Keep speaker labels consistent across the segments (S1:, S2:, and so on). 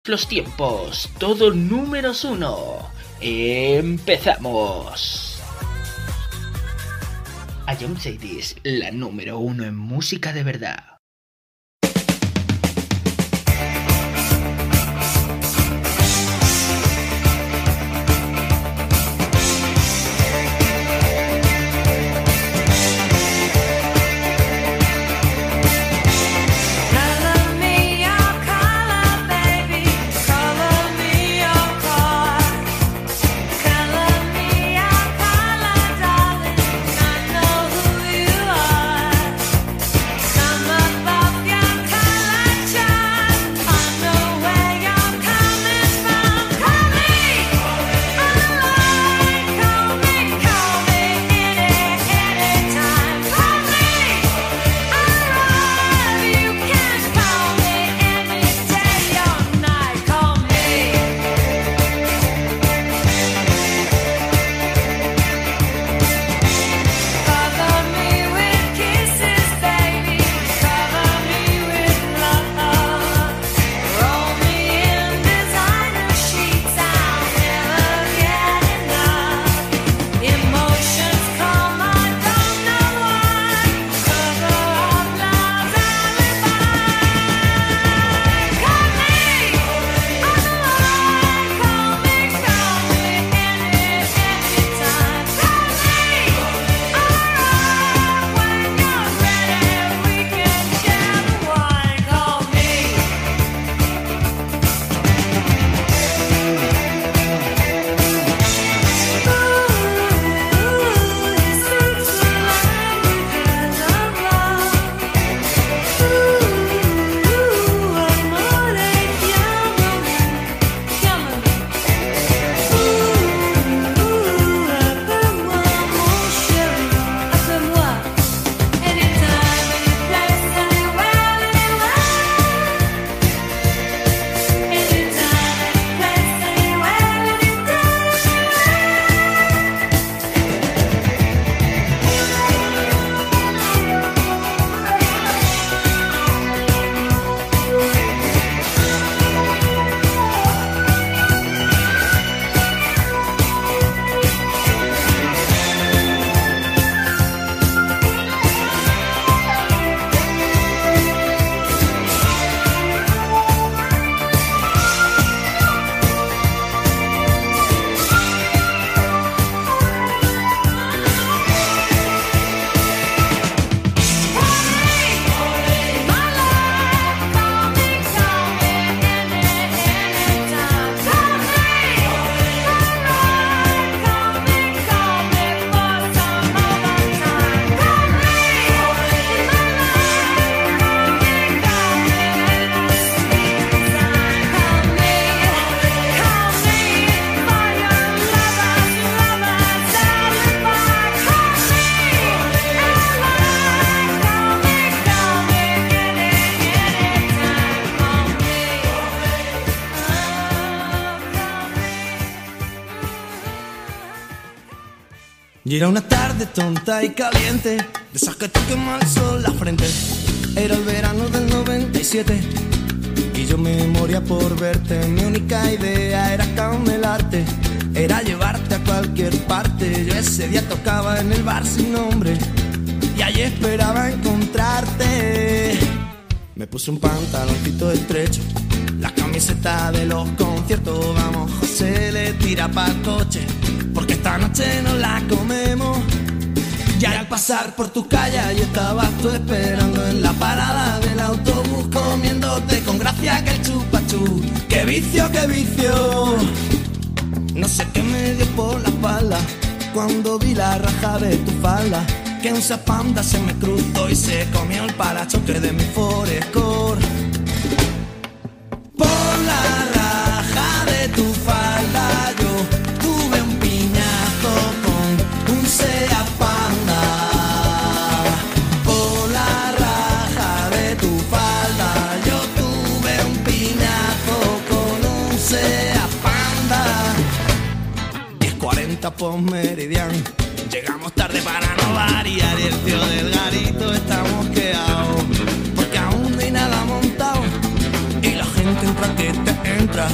S1: los tiempos, todo números 1. ¡Empezamos! Ion Mercedes, la número 1 en música de verdad.
S2: Y era una tarde tonta y caliente, de esas que te quema el sol la frente. Era el verano del 97 y yo me moría por verte. Mi única idea era camelarte, era llevarte a cualquier parte. Yo ese día tocaba en el bar sin nombre y allí esperaba encontrarte. Me puse un pantaloncito estrecho, la camiseta de los conciertos. Vamos, José, le tira pa'l coche, porque esta noche nos la comemos. Y al pasar por tu calle, ahí estabas tú esperando en la parada del autobús, comiéndote con gracia que el chupachú. ¡Qué vicio, qué vicio! No sé qué me dio por la espalda cuando vi la raja de tu falda, que un zapanda se me cruzó y se comió el parachoque de mi Forescore. Por la raja de tu falda yo tuve un piñazo con un Seat Panda. Por la raja de tu falda yo tuve un piñazo con un Seat Panda. 10:40 por Meridian. Llegamos tarde para no variar y el tío del garito está mosqueado, porque aún no hay nada montado y la gente entra que te entra.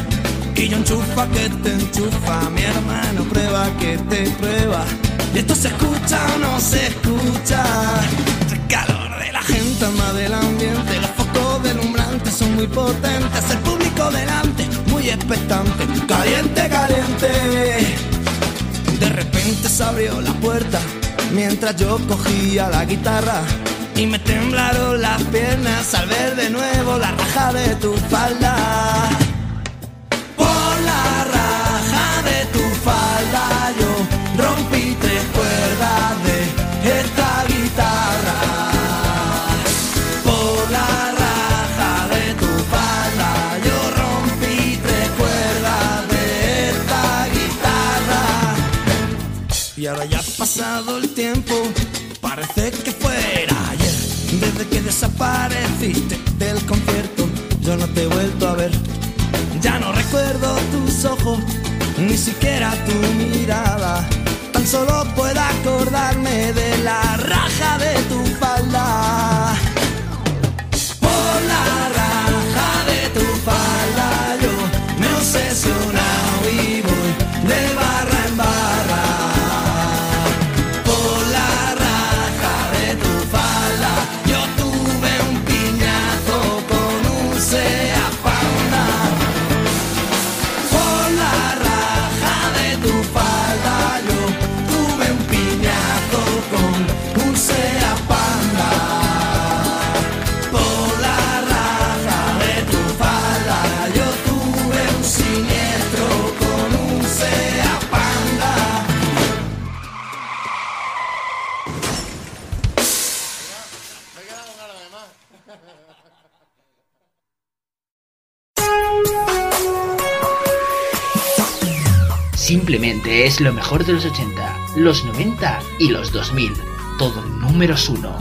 S2: enchufa que te enchufa, mi hermano prueba que te prueba. ¿Y esto se escucha o no se escucha? El calor de la gente más del ambiente, los focos deslumbrantes son muy potentes, el público delante muy expectante, caliente, caliente. De repente se abrió la puerta mientras yo cogía la guitarra y me temblaron las piernas al ver de nuevo la raja de tu falda. Por la raja de tu falda yo rompí 3 cuerdas de esta guitarra. Por la raja de tu falda yo rompí 3 cuerdas de esta guitarra. Y ahora ya ha pasado el tiempo, parece que fuera ayer. Desde que desapareciste del concierto yo no te he vuelto a ver. Ya no recuerdo tus ojos, ni siquiera tu mirada. Tan solo puedo acordarme de la raja de tu falda. Por la raja de tu falda yo me he obsesionado y voy de barra en barra. Por la raja de tu falda yo tuve un piñazo con un Seat Panda. Por la raja de tu falda yo tuve un piñazo con un Seat Panda. Por la raja de tu falda yo tuve un siniestro con un Seat Panda.
S1: Simplemente es lo mejor de los 80, los 90 y los 2000. Todo números 1.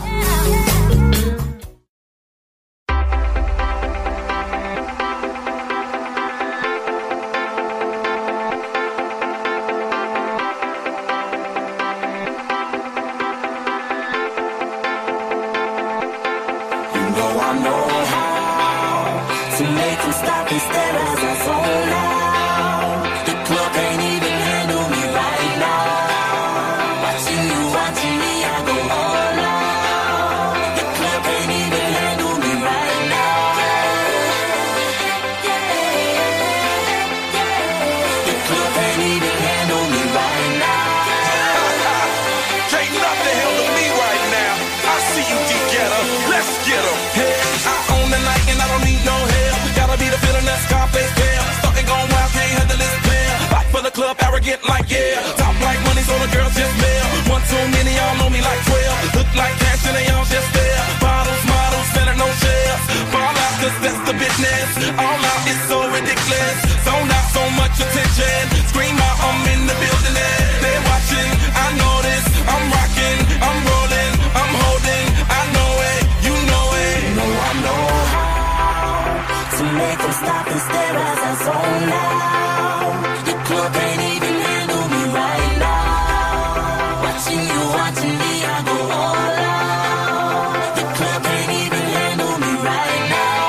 S3: Club arrogant like yeah, top like money so the girls just mail. One too many, y'all know me like 12. Look like cash and they all just there. Bottles, models, selling no shares. Fall out cause that's the business. All out is so ridiculous. Zone out so much attention. Scream out, I'm in the building and they're watching. I know this, I'm rocking, I'm rolling, I'm holding. I know it, you know it.
S4: You know I know how to make them stop and stare as I zone out. The club can't even handle me right now. Watching you, watching me, I go all out. The club can't even handle me right now.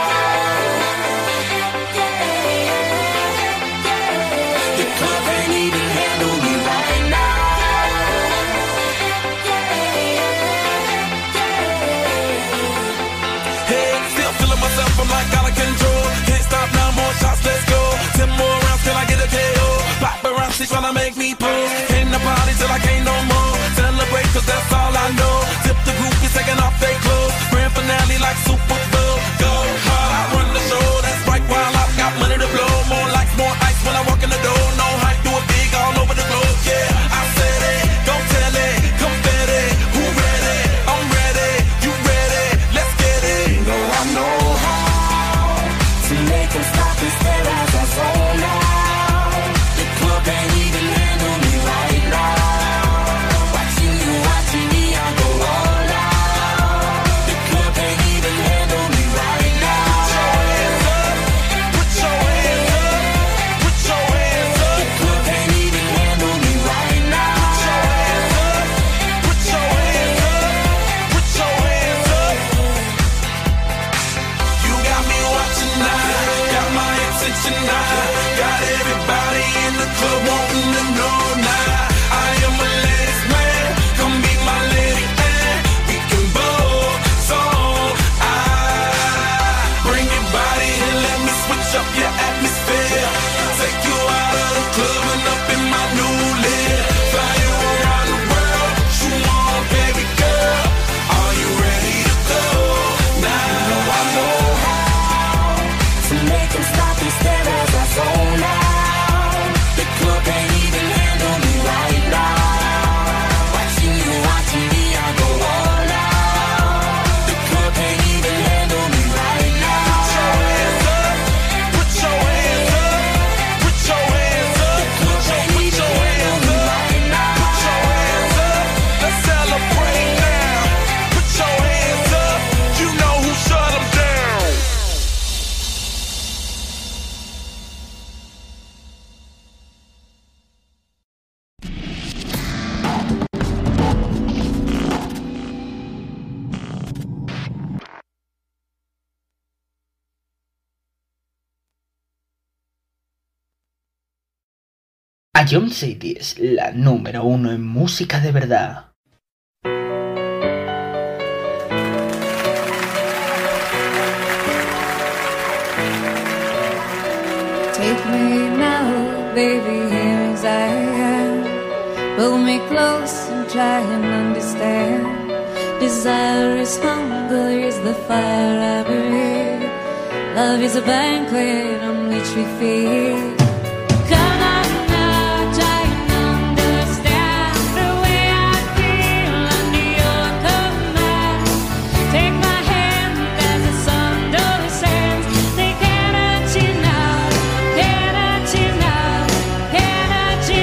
S4: The club can't even handle me right now.
S3: Hey, still feeling myself, I'm like out of control. Can't stop now, more shots, let's go. 10 more rounds till I get a KO. Paparazzi tryna make me pull. Came to party till I can't no more. Celebrate cause that's all I know. Tip the group, is taking off their clothes. Grand finale like Super Bowl. Go hard, I run the show. That's right, while I got money to blow. More lights, more ice when I walk in the door. No hype, do it big all over the globe. Yeah, I said it, don't tell it. Confetti, who ready? I'm ready, you ready? Let's get it.
S4: You know I know how to make them stop and stare as I zone out. The club can't even handle me right now. Watching you, watching me, I go
S1: Ion City es la número 1 en música de verdad.
S5: Take me now, baby, here as I am. Pull me close and try and understand. Desire is hunger, is the fire I breathe. Love is a banquet on which we feed. Come on now, try and understand the way I feel under your command. Take my hand as the sun descends. They cannot you now, cannot you now, cannot you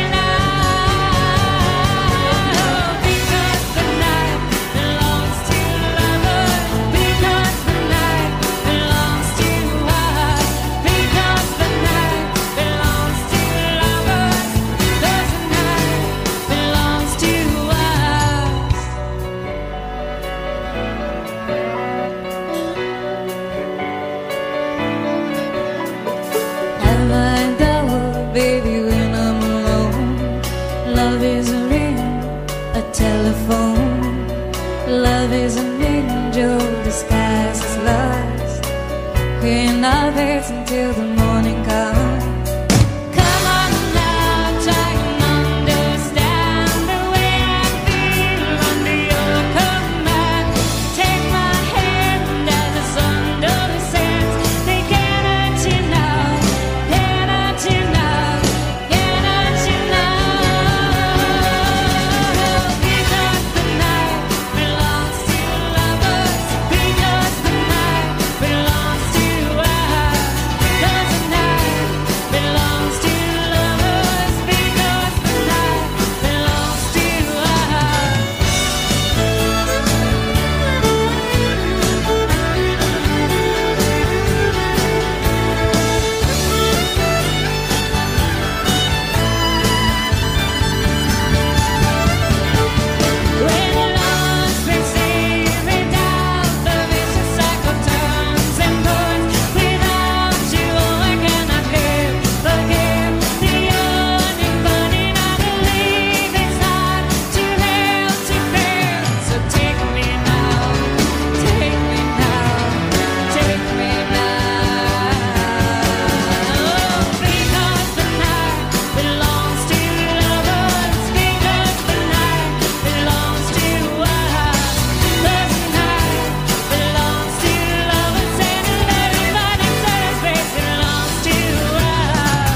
S5: now. Because the night belongs to lovers. Because the night belongs to us. Because the night belongs to lovers. Because the night belongs to us. Have I doubt, baby, when I'm alone? Love is a ring, a telephone. Love is an angel disguised as lust. In our beds until the morning comes. Come on now, try and understand the way I feel under your command. Take my hand as the sun descends. They cannot you now, cannot you now, cannot you now. Because the night belongs to lovers. Because the night belongs to us. Because the night belongs to lovers. Because the night belongs to us. When love's been saving down, the vicious cycle turns and burns. Without you, I cannot live. Forgive the yearning, burning. I believe it's hard to hell to bear. So take me now, take me now, take me now. Because the night belongs to lovers. Because the night belongs to us. The night belongs to lovers, and everybody says space belongs to us.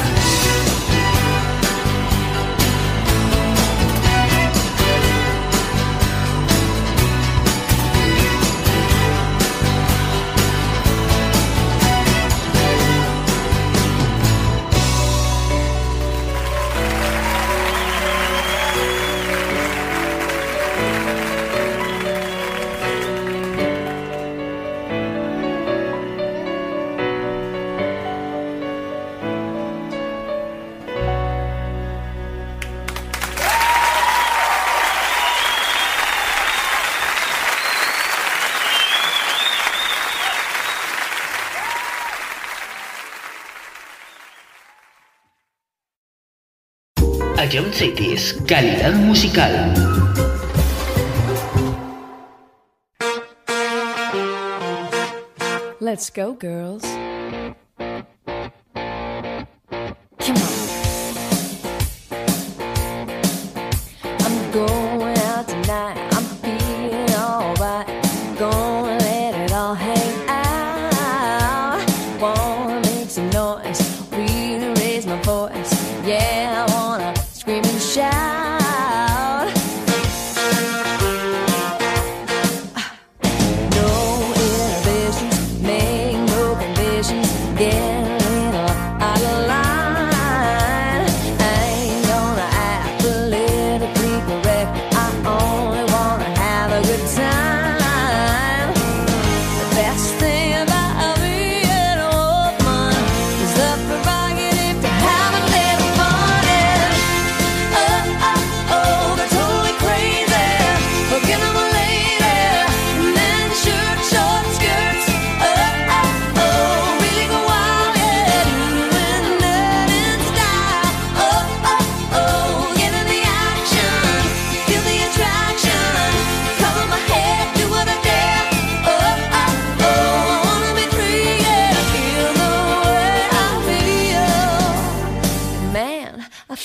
S1: Ion City es calidad musical.
S6: Let's go, girls. Come on. I'm going out tonight. I'm feeling alright. Gonna let it all hang out. Wanna make some noise. Really raise my voice. Yeah, I wanna scream and shout. No inhibitions, make no conditions. Get a little out of line. I ain't gonna act politically correct. I only wanna have a good time. The best thing about being a woman is the prerogative to have a little fun. And oh, oh, oh, they're totally crazy. Forget I'm a lady. Men, shirt, short skirts. Oh, oh, oh, really go wild, yeah. Doing that in style. Oh, oh, oh.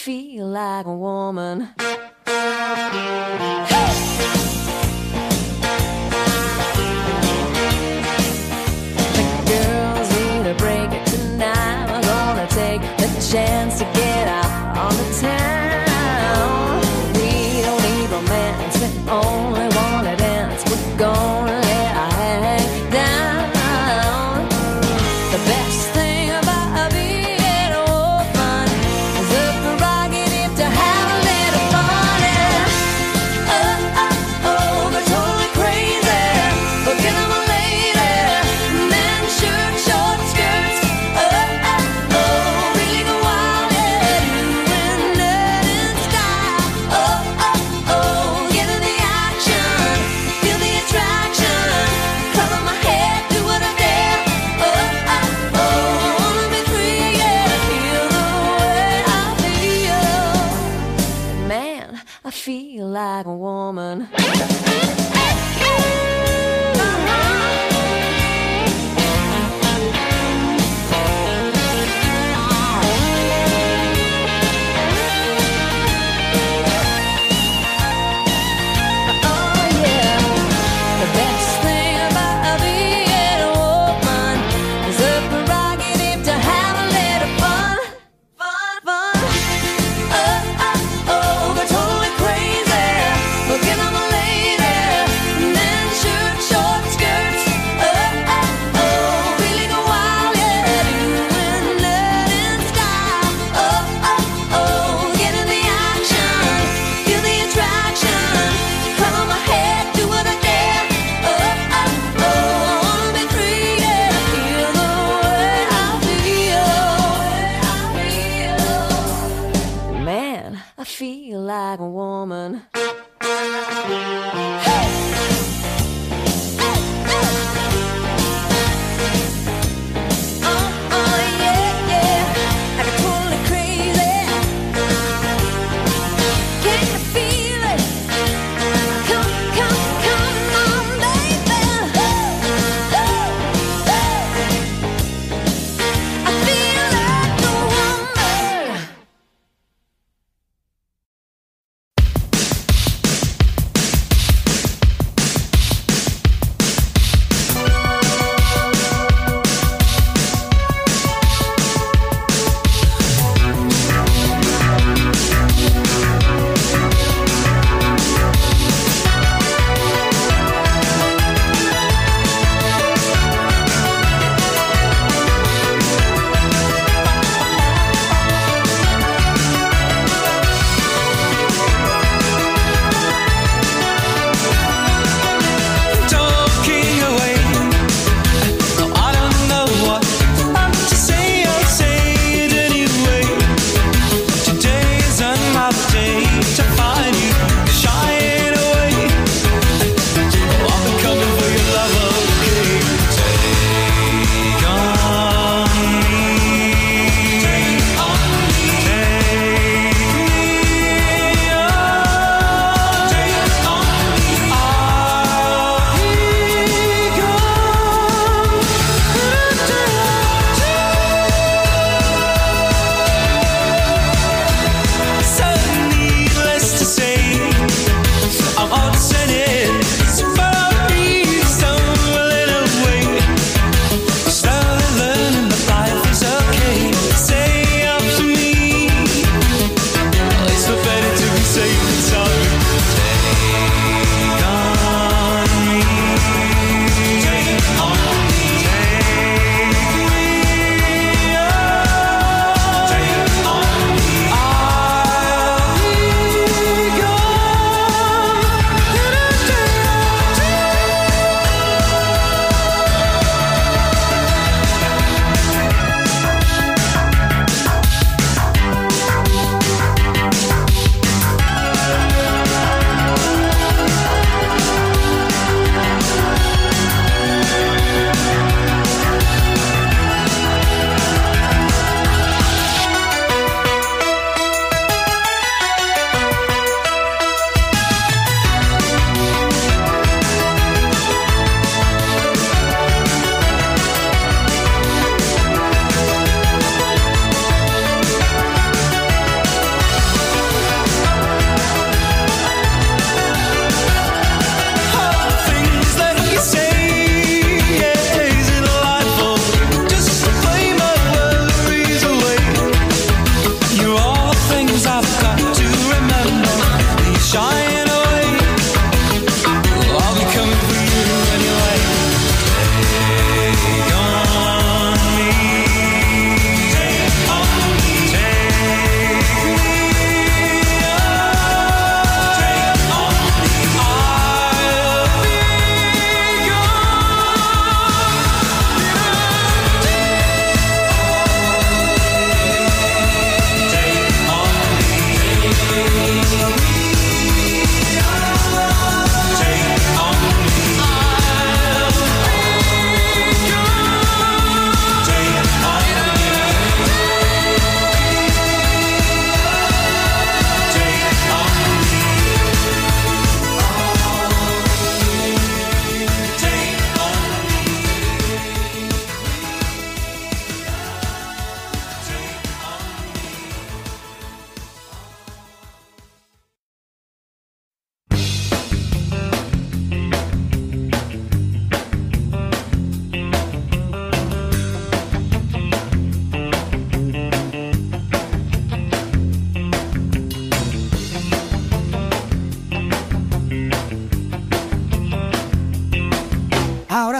S6: feel like a woman. Break it tonight. We're gonna take the chance to get out on the town. We don't need romance, we only wanna dance. We're gonna let our hang down. The best thing about being a woman is the prerogative to have a little fun.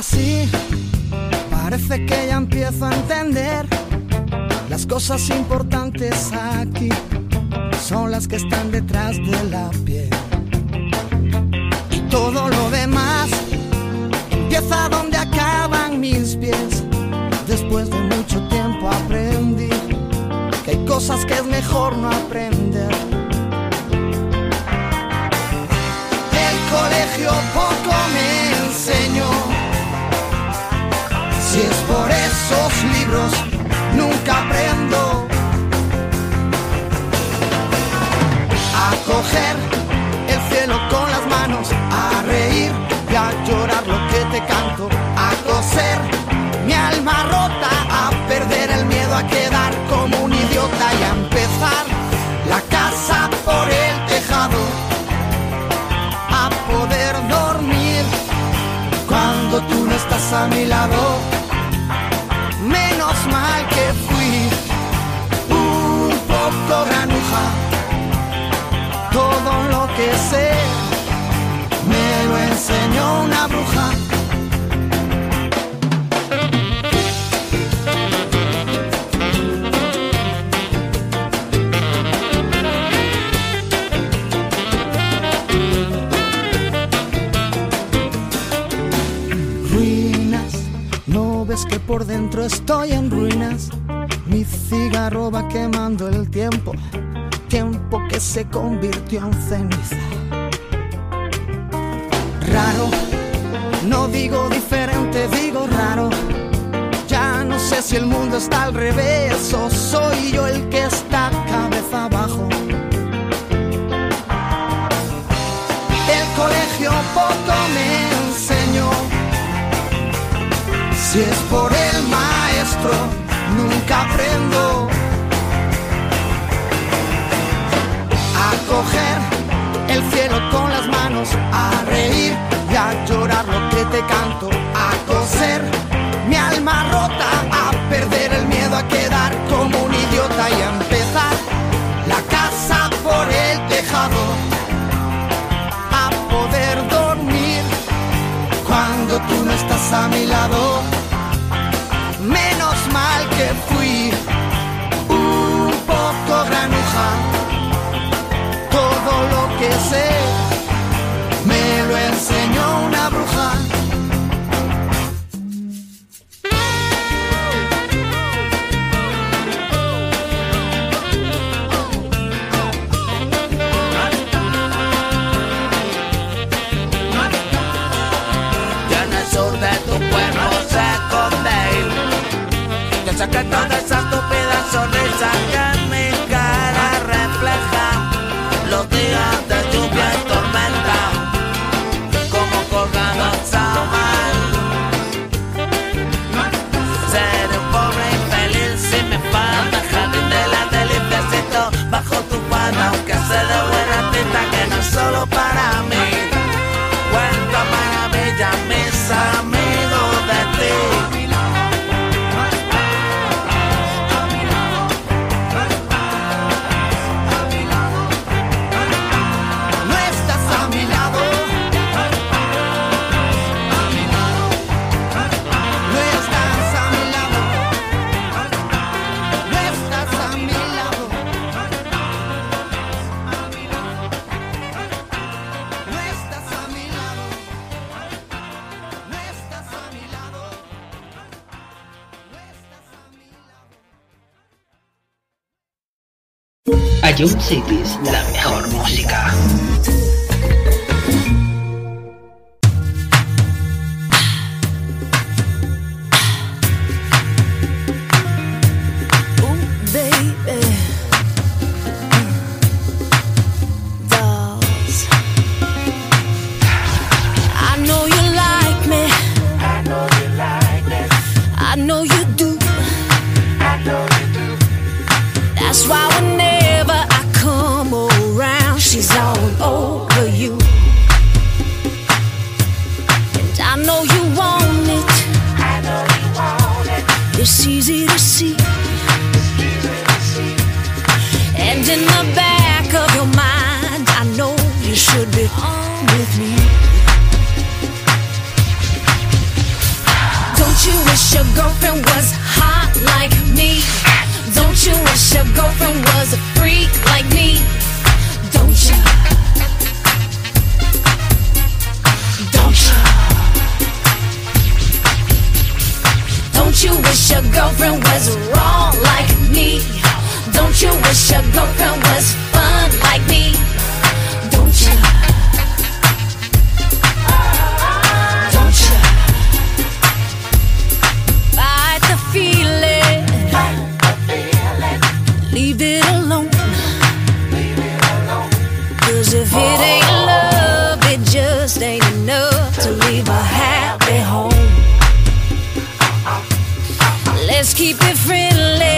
S2: ahora sí, parece que ya empiezo a entender. Las cosas importantes aquí son las que están detrás de la piel. Y todo lo demás empieza donde acaban mis pies. Después de mucho tiempo aprendí que hay cosas que es mejor no aprender. El colegio poco me enseñó. Si es por esos libros, nunca aprendo a coger el cielo con las manos, a reír y a llorar lo que te canto, a coser mi alma rota, a perder el miedo a quedar como un idiota y a empezar la casa por el tejado, a poder dormir cuando tú no estás a mi lado. Menos mal que fui un poco granuja. Todo lo que sé me lo enseñó una bruja. Es que por dentro estoy en ruinas. Mi cigarro va quemando el tiempo, tiempo que se convirtió en ceniza. Raro, no digo diferente, digo raro. Ya no sé si el mundo está al revés o soy yo el que está cabeza abajo. El colegio poco me enseñó. Si es por el maestro, nunca aprendo a coger el cielo con las manos, a reír y a llorar lo que te canto, a coser mi alma rota, a perder el miedo a quedar como un idiota y a empezar la casa por el tejado, a poder dormir cuando tú no estás a mi lado. Menos mal que fui un poco granuja. Todo lo que sé me lo enseñó una bruja.
S7: Y en el sur de tu pueblo se esconde el secreto de esa estúpida sonrisa que en mi cara refleja los días de lluvia y tormenta, como colgados a mar. Seré un pobre infeliz si me falta el jardín de la deliciacito bajo tu falda, aunque sé de buena tinta que no es solo para mí. Cuenta maravillas mis amigos de ti.
S1: Ion Cities, la mejor música.
S6: That's why whenever I come around, she's all over you. And I know you want it. I know you want it. It's easy to see. And in the back of your mind, I know you should be on with me.
S5: wish your girlfriend was hot like me? Don't you wish your girlfriend was a freak like me? Don't you? Don't you? Don't you wish your girlfriend was wrong like me? Don't you wish your girlfriend was fun like me? Don't you? Don't you? Fight the feeling. Leave it alone. 'Cause if it ain't love, it just ain't enough to leave a happy home. Let's keep it friendly.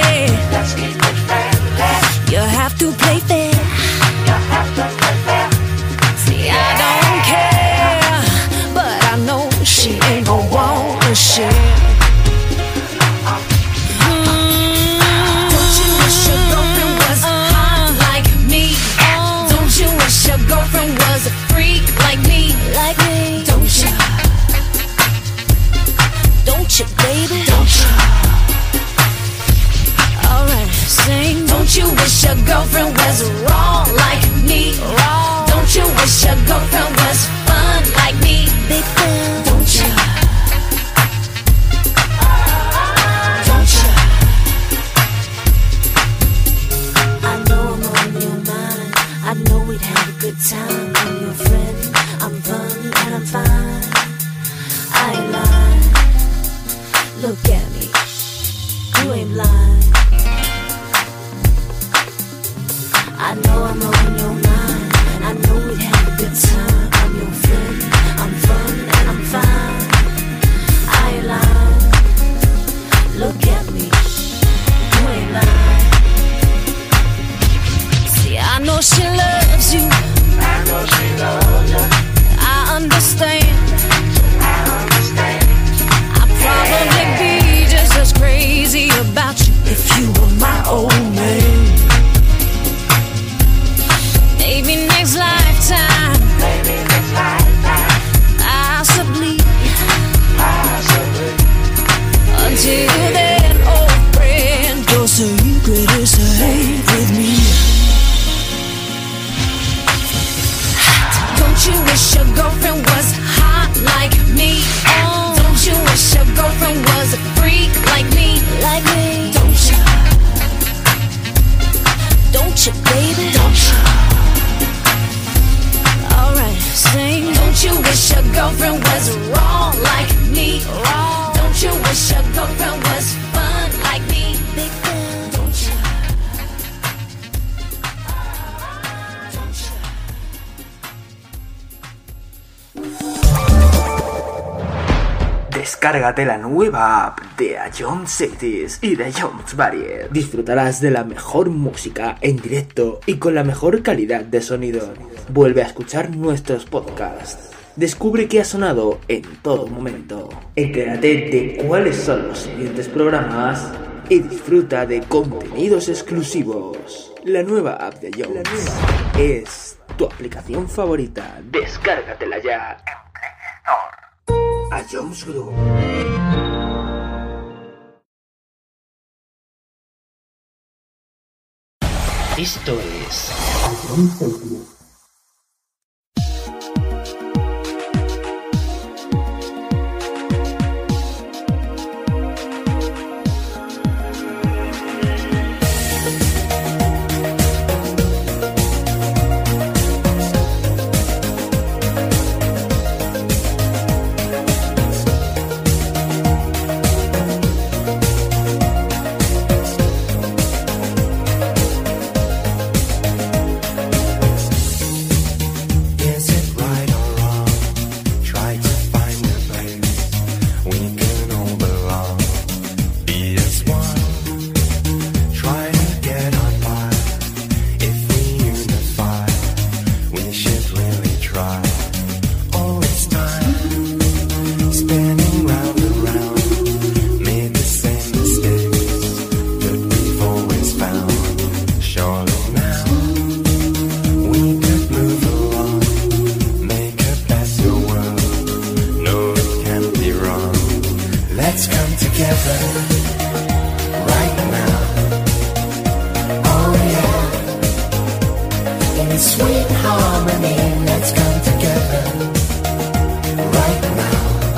S5: You have to play fair. See, I don't care, but I know she ain't gon' wanna share. Don't you wish your girlfriend was hot like me? Don't you wish your girlfriend was a freak like me? Like me? Don't you? Don't you, baby? Don't you? Alright, sing. Don't you wish your girlfriend was wrong like me? Wrong. Don't you wish your girlfriend was fun like me? Big fun. Don't you? Don't you? I know I'm on your mind. I know we'd have a good time. I'm your friend. I'm fun and I'm fine. I ain't lying. Look at me. You ain't blind. I know I'm on your mind. I know we'd have a good time. I'm your friend. I'm fun and I'm fine. I ain't lying. Look at me. You ain't lying. See, I know she loves you. I know she loves you. I understand. I understand. I'd probably be just as crazy about you if you were my old man. Maybe next lifetime. Maybe next lifetime. Possibly. Possibly. Until then, old friend, your secret is safe with me. Don't you wish your girlfriend was hot like me? Don't you wish your girlfriend was a freak like me? Like me? Don't you? Don't you, baby? Don't you? Alright, sing. Don't you wish your girlfriend was wrong like me? Wrong. Don't you wish your girlfriend was fun like me? Big fun. Don't you? Don't you?
S8: Descárgate la nueva app de Ion Cities y de Jones Barrier. Disfrutarás de la mejor música en directo y con la mejor calidad de sonido. Vuelve a escuchar nuestros podcasts. Descubre qué ha sonado en todo momento. Entérate de cuáles son los siguientes programas y disfruta de contenidos exclusivos. La nueva app de Jones es tu aplicación favorita. Descárgatela ya en Play Store. A Jones Group.
S1: Esto es
S2: together right now. Oh yeah. In sweet harmony, let's come together right now.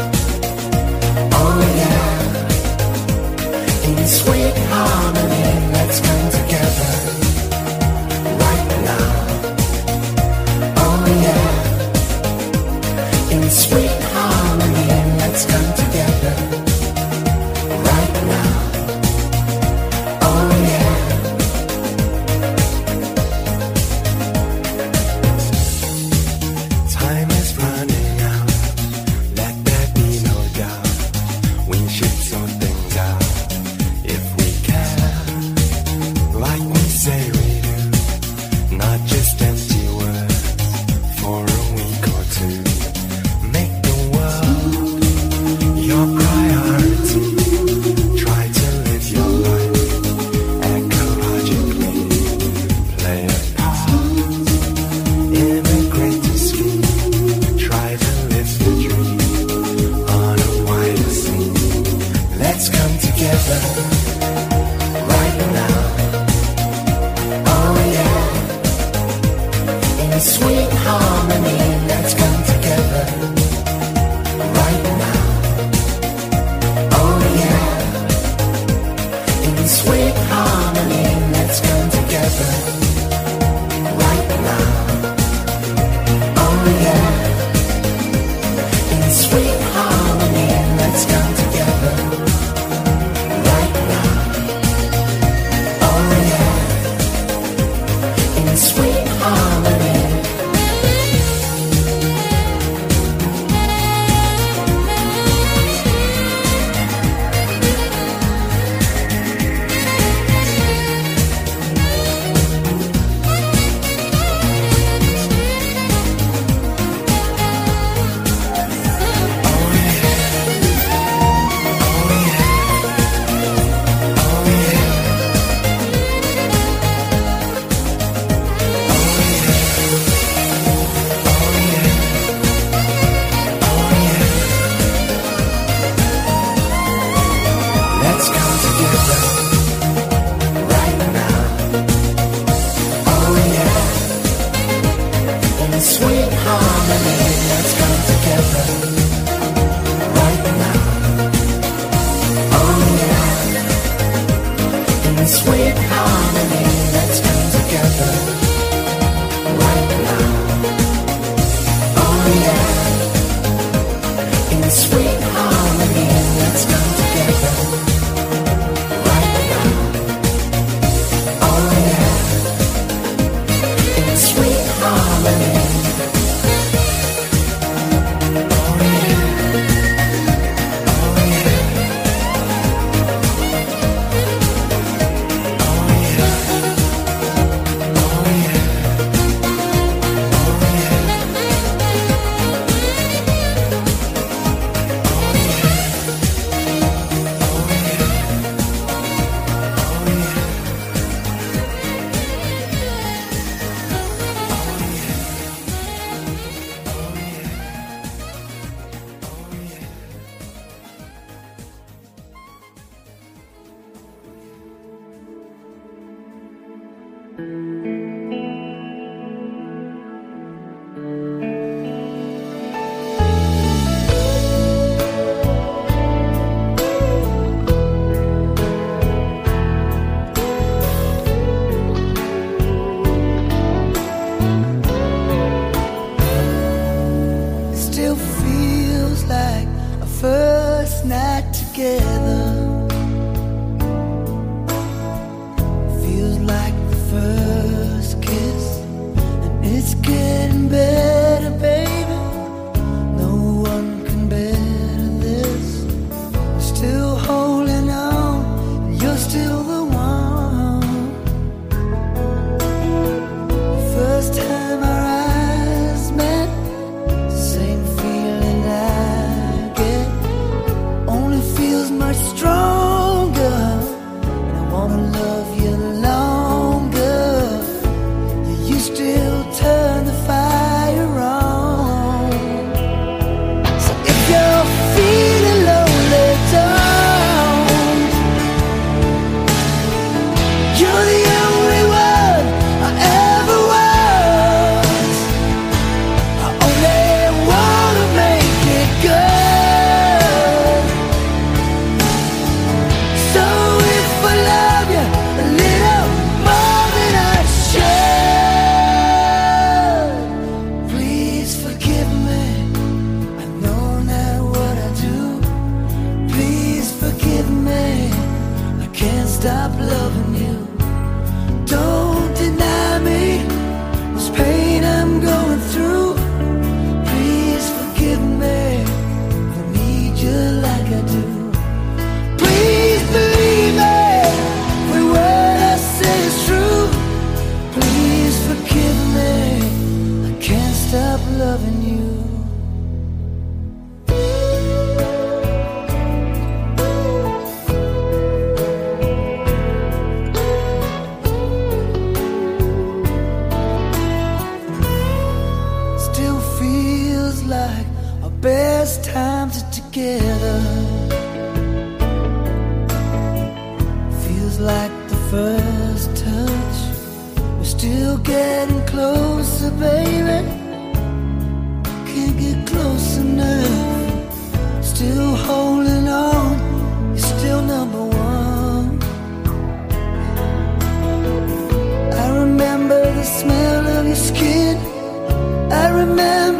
S2: Oh yeah. In sweet harmony, let's come together right now. Oh yeah. In sweet harmony, let's come together right now. Oh yeah. Time is running out, let there be no doubt. We should sort things out if we can, like we say we do, not just empty words for a week or two. Make the world your priority. Try to live your life ecologically. Play a part in a greater scheme. Try to live the dream on a wider scene. Let's come together right now. Oh yeah. In sweet harmony, let's come together right now. Oh yeah. In sweet harmony, let's come together right now. Oh yeah. In sweet harmony, let's come together right now. Oh yeah. In sweet harmony. Let's come together right now. Oh yeah. In sweet harmony, let's come together right now. Oh yeah. In sweet harmony, let's come together right now. Oh yeah. In sweet harmony, let's come together right now. Oh yeah. In sweet harmony. Oh yeah. Oh yeah. Oh yeah. Oh yeah. Still feels like a first night together. Feels like the first stop loving you. Don't deny me this pain I'm going through. Please forgive me, I need you like I do. Please believe me, every word I say is true. Please forgive me, I can't stop loving you. Best times are together. Feels like the first touch. We're still getting closer, baby. Can't get close enough. Still holding on. You're still number one. I remember the smell of your skin. I remember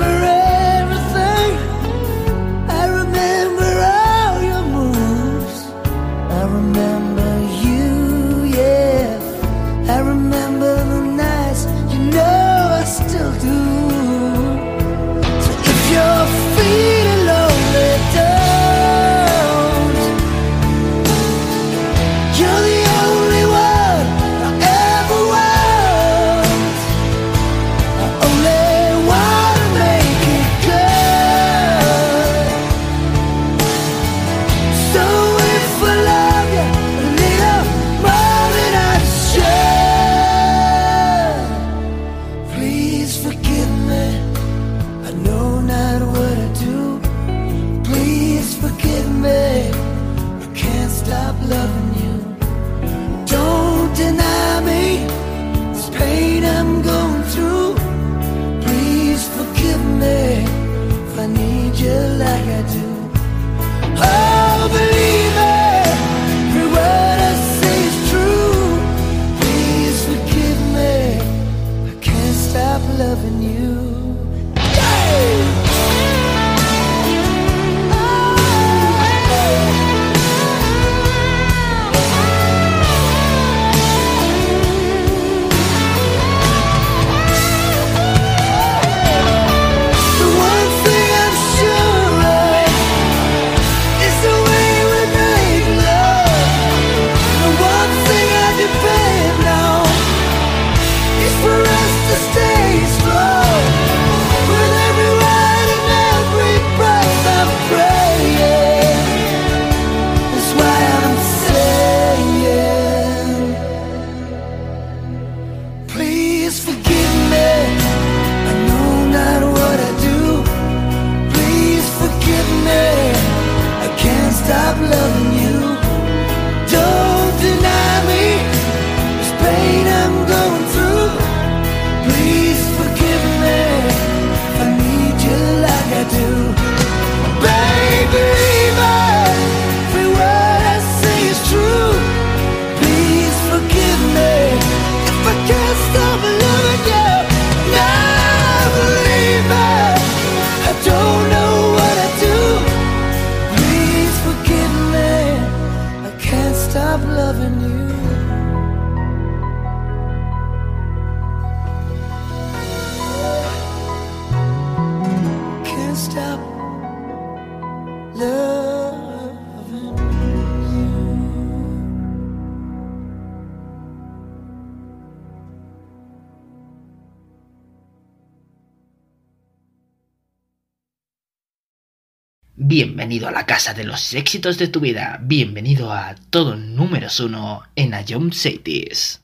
S1: Bienvenido a la casa de los éxitos de tu vida. Bienvenido a todo números 1 en Ion Cities.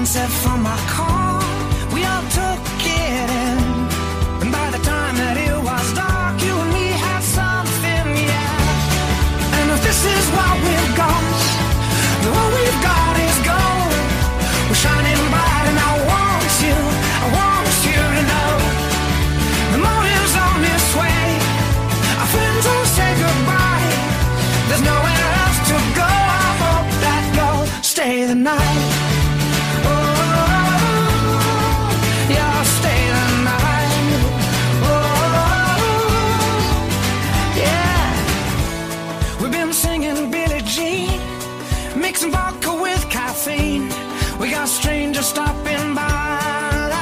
S2: sunset from my car. We all took it in, and by the time that it was dark, you and me had something, yeah. And if this is what we've got, then what we've got is gold. We're shining bright, and I want you to know. The morning's on its way. Our friends will say goodbye. There's nowhere else to go. I hope that you'll stay the night. Mixing vodka with caffeine. We got strangers stopping by.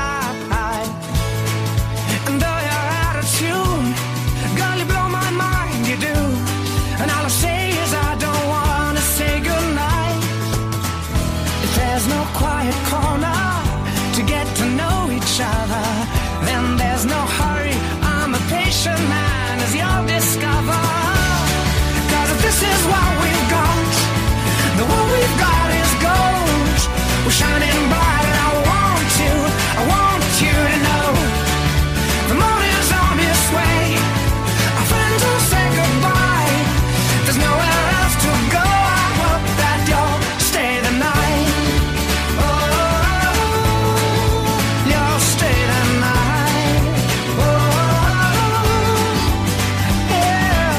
S2: And though you're out of tune, girl, you blow my mind, you do. And all I say is I don't wanna say goodnight. If there's no quiet corner to get to know each other, then there's no hurry. I'm a patient man, as you'll discover. 'Cause if this is what we've got, the what we've got is gold. We're shining bright, and I want you to know. The morning's on its way. Our friends will say goodbye. There's nowhere else to go. I hope that you'll stay the night. Oh, you'll stay the night. Oh, yeah.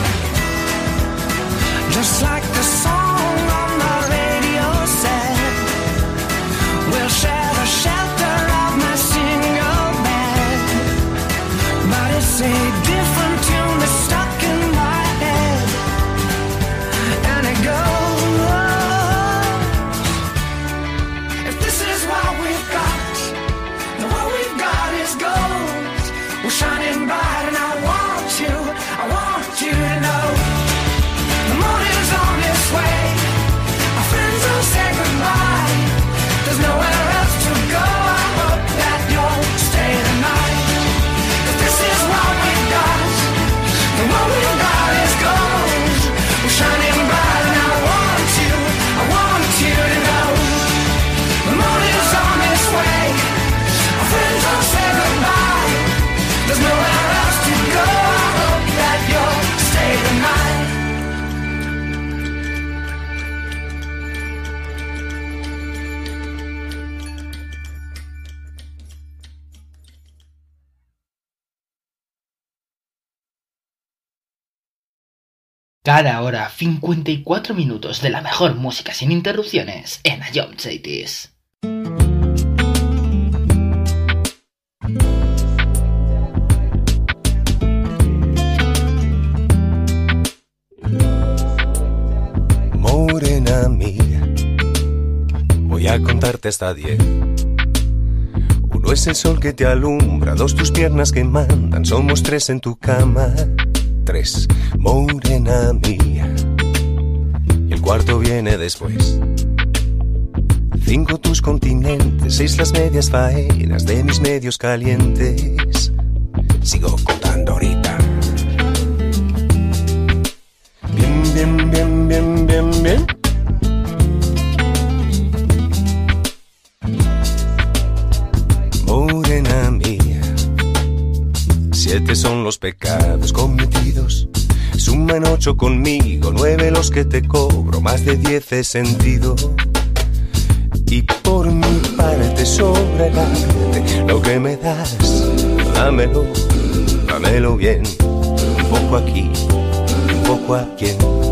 S2: Just like the song on the radio said, we'll share the shelter of my single bed. But it's a different tune that's stuck in my head, and it goes, if this is what we've got, then what we've got is gold. We're shining bright, and I want you to know. The morning's on its way. Our friends will say goodbye. There's nowhere else to go. I hope that you'll stay the night. 'Cause this is what we've got, and what we've got is gold. We're shining bright, and I want you to know. The morning's on its way. Our friends will say goodbye. There's nowhere else to go. I hope that you'll stay the night.
S1: Cada hora 54 minutos de la mejor música sin interrupciones en Ion Cities.
S9: Morena mía, voy a contarte hasta 10. Uno es el sol que te alumbra, 2 tus piernas que mandan, somos 3 en tu cama. 3, morena mía, y el cuarto viene después. 5 tus continentes, 6 las medias faenas de mis medios calientes. Sigo contando ahorita. Bien, bien, bien, bien, bien. Morena mía, 7 son los pecados cometidos. Suman 8 conmigo, 9 los que te cobro, más de 10 he sentido. Y por mi parte sobra el arte, lo que me das, dámelo, dámelo bien. Un poco aquí, un poco aquí.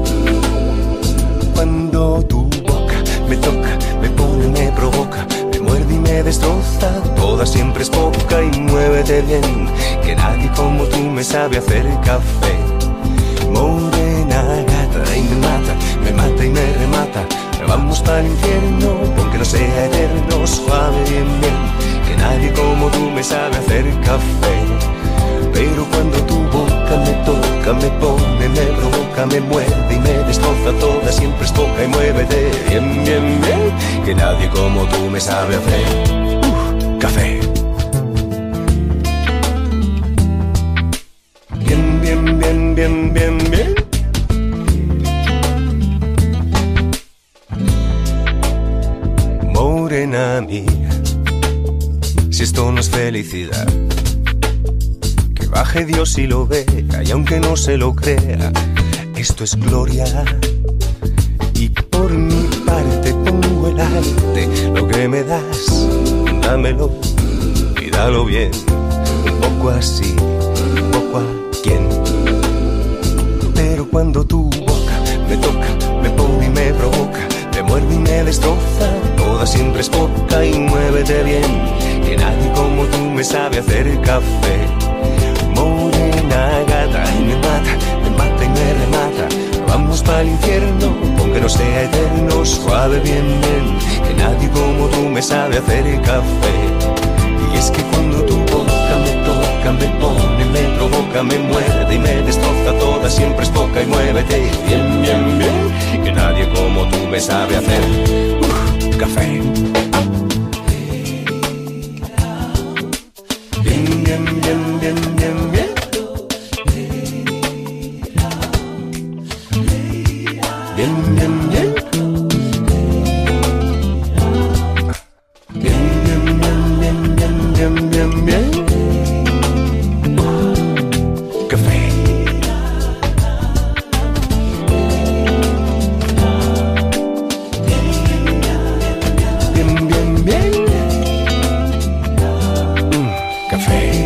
S9: Cuando tu boca me toca, me pone, me provoca, me muerde y me destroza, toda siempre es poca y muévete bien, que nadie como tú me sabe hacer café. Morena gata y me mata y me remata. Vamos para el infierno, aunque no sea eterno, suave bien bien, que nadie como tú me sabe hacer café. Pero cuando tu boca me toca, me pone, me provoca, me muerde y me destroza, toda siempre es poca y muévete bien, bien, bien, que nadie como tú me sabe hacer café. Bien, bien, bien, bien, bien, bien. Morena si esto no es felicidad. Que baje Dios y lo vea, y aunque no se lo crea, esto es gloria. Y por mi parte pongo el arte, lo que me das, dámelo y dalo bien. Un poco así, un poco a quien. Pero cuando tu boca me toca, me pone y me provoca, me muerde y me destroza, toda siempre es poca y muévete bien, que nadie como tú me sabe hacer café. Morena gata y me mata y me remata. Vamos pa'l infierno, aunque no sea eterno, suave bien, que nadie como tú me sabe hacer café. Y es que cuando tu boca me toca, me pone, me provoca, me muerde y me destroza, toda siempre es poca y muévete bien, bien, bien, que nadie como tú me sabe hacer café. Bien, bien, bien, bien, bien, bien. Bien, bien, bien. Bien, bien, bien, bien, bien, bien, bien. Café. Bien, bien, bien. Café.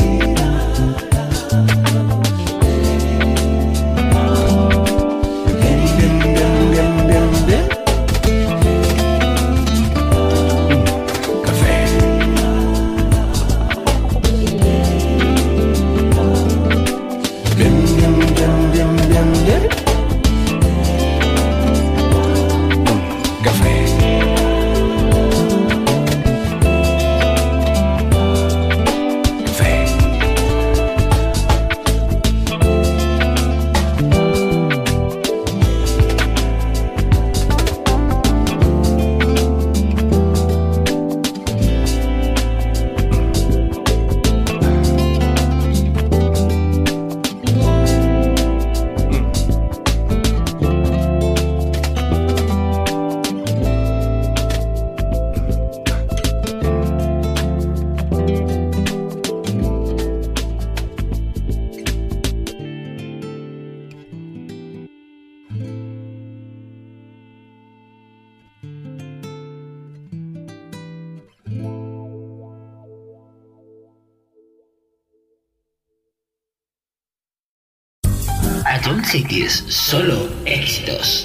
S1: Ion Cities, solo éxitos.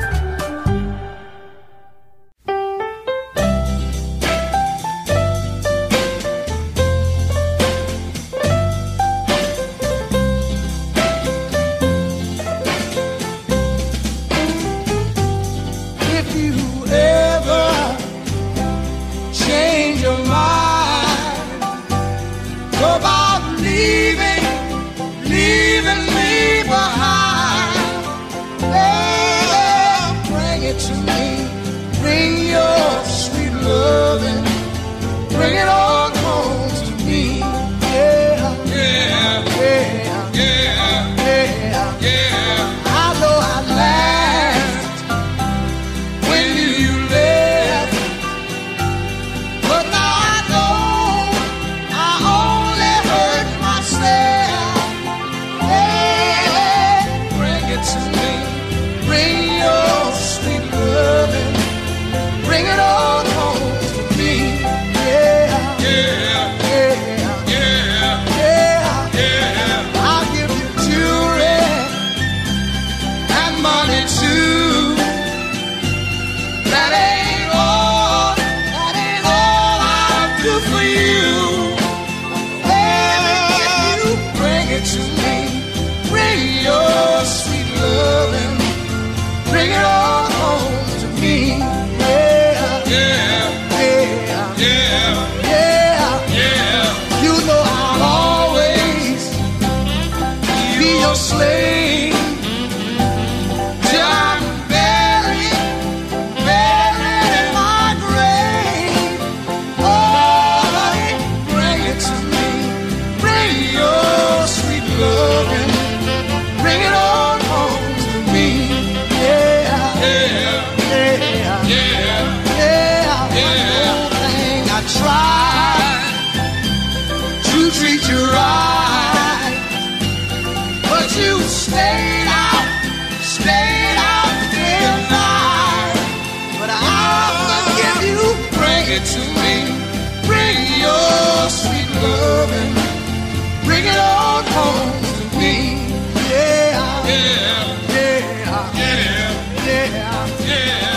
S2: If you ever change your mind about leaving me behind, well, bring it to me. Bring your sweet loving. Bring it on home to me. Yeah, yeah, yeah, yeah, yeah, yeah. I know I laughed when you left, but now I know I only hurt myself. Hey, bring it to me. Bring your sweet loving. Bring it on home to me. Yeah, yeah. treat you right. But you stayed out day and night. But I'll forgive you, bring it to me. Bring your sweet loving, bring it on home to me. Yeah, yeah, yeah, yeah, yeah, yeah.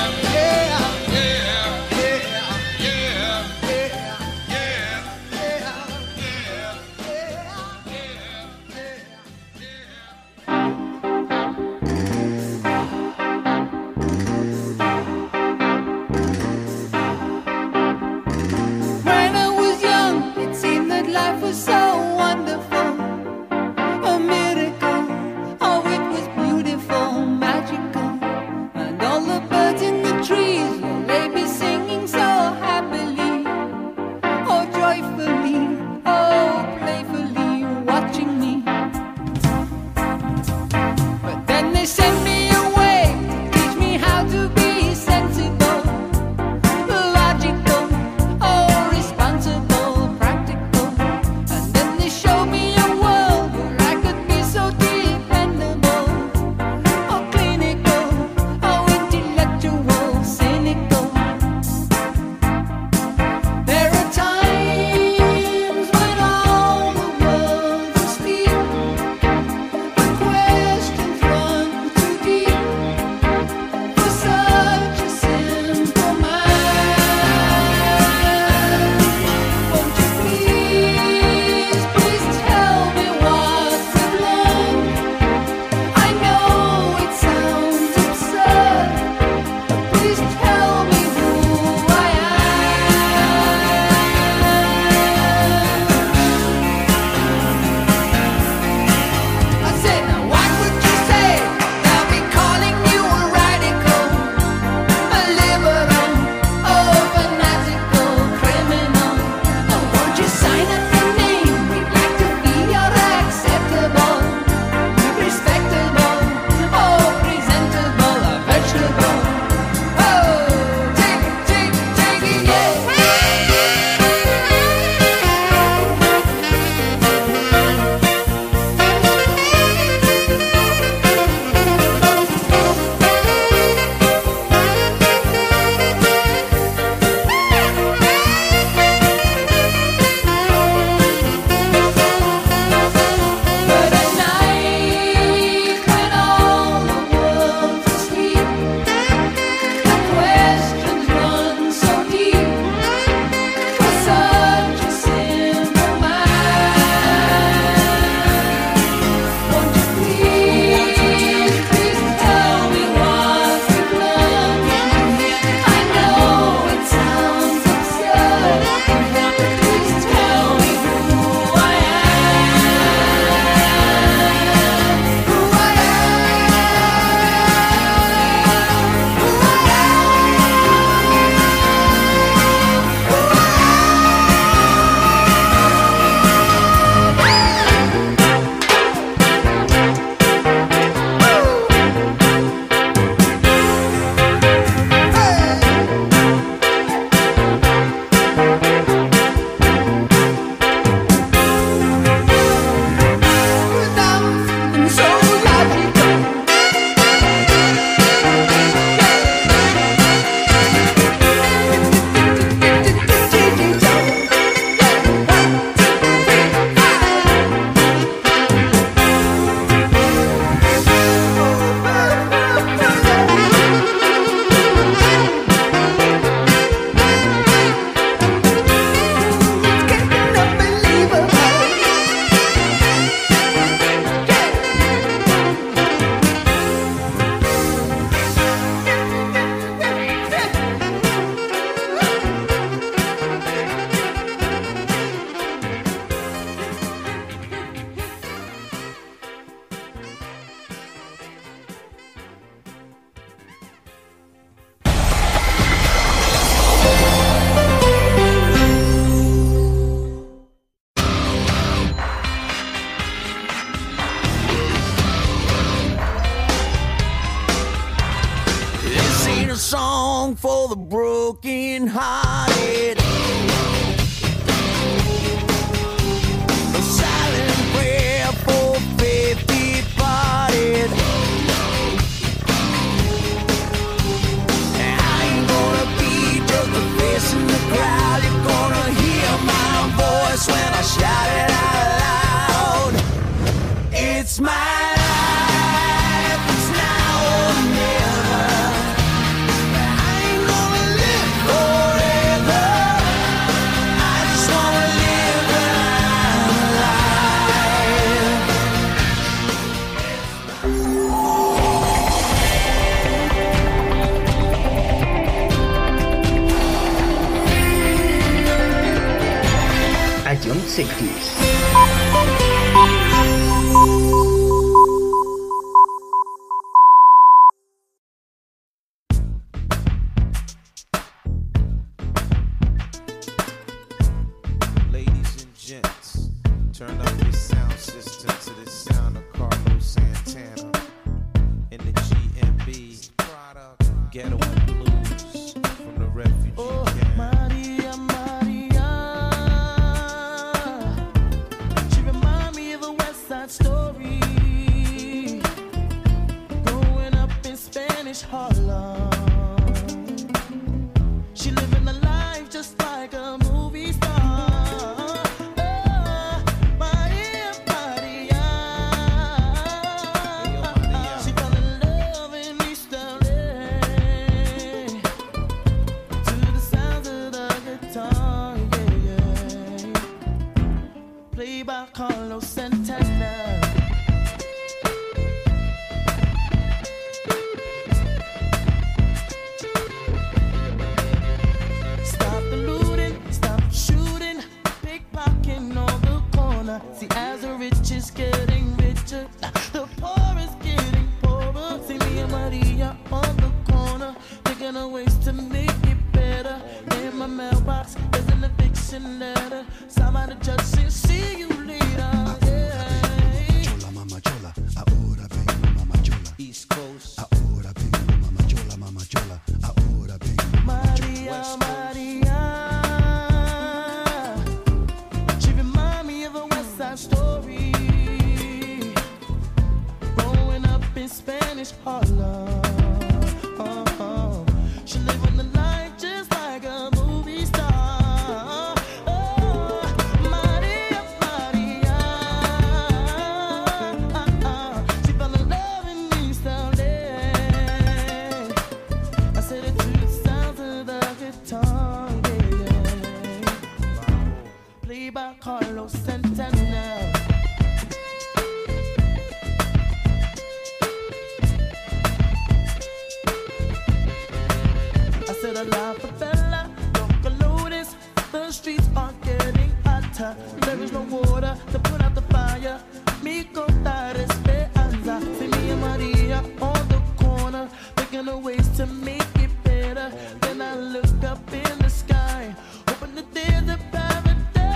S10: song for the broken hearted. A Ladies and gents, turn up your sound system to the sound of Carlos Santana in the GMB Ghetto and Blues from the refugee camp.
S11: Maria, Maria, she remind me of a West Side Story. Growing up in Spanish Harlem, she living a life just like a movie star. Maria, Maria, she fell in love in East LA to the sounds of the guitar, yeah, yeah. Played by Carlos Santana. Stop the looting, stop shooting, pickpocketing on the corner. See, as the rich is getting richer, the poor is getting poorer. See me and Maria on the corner, thinking of ways to make it better. In my mailbox, there's an eviction letter. Signed by the judge saying, see you later. Yeah.
S2: Chola, mama chola, ahora vengo, mama chola.
S10: East Coast,
S2: Ahora vengo, mama chola, mama chola. Ahora vengo, mama chola.
S11: Maria, Maria, she remind me of a West Side Story. Growing up in Spanish Harlem, she living the life just like a movie star. Maria, Maria, she fell in love in East LA. I said it to the sounds of the guitar, yeah. Played by Carlos Santana. I said a la favela, local lotus. The streets are getting hotter. There is no water to put out the fire. Mi contar esperanza. See me and Maria on the corner, thinking of ways to make it better. Then I look up in the sky, hoping that there's a paradise.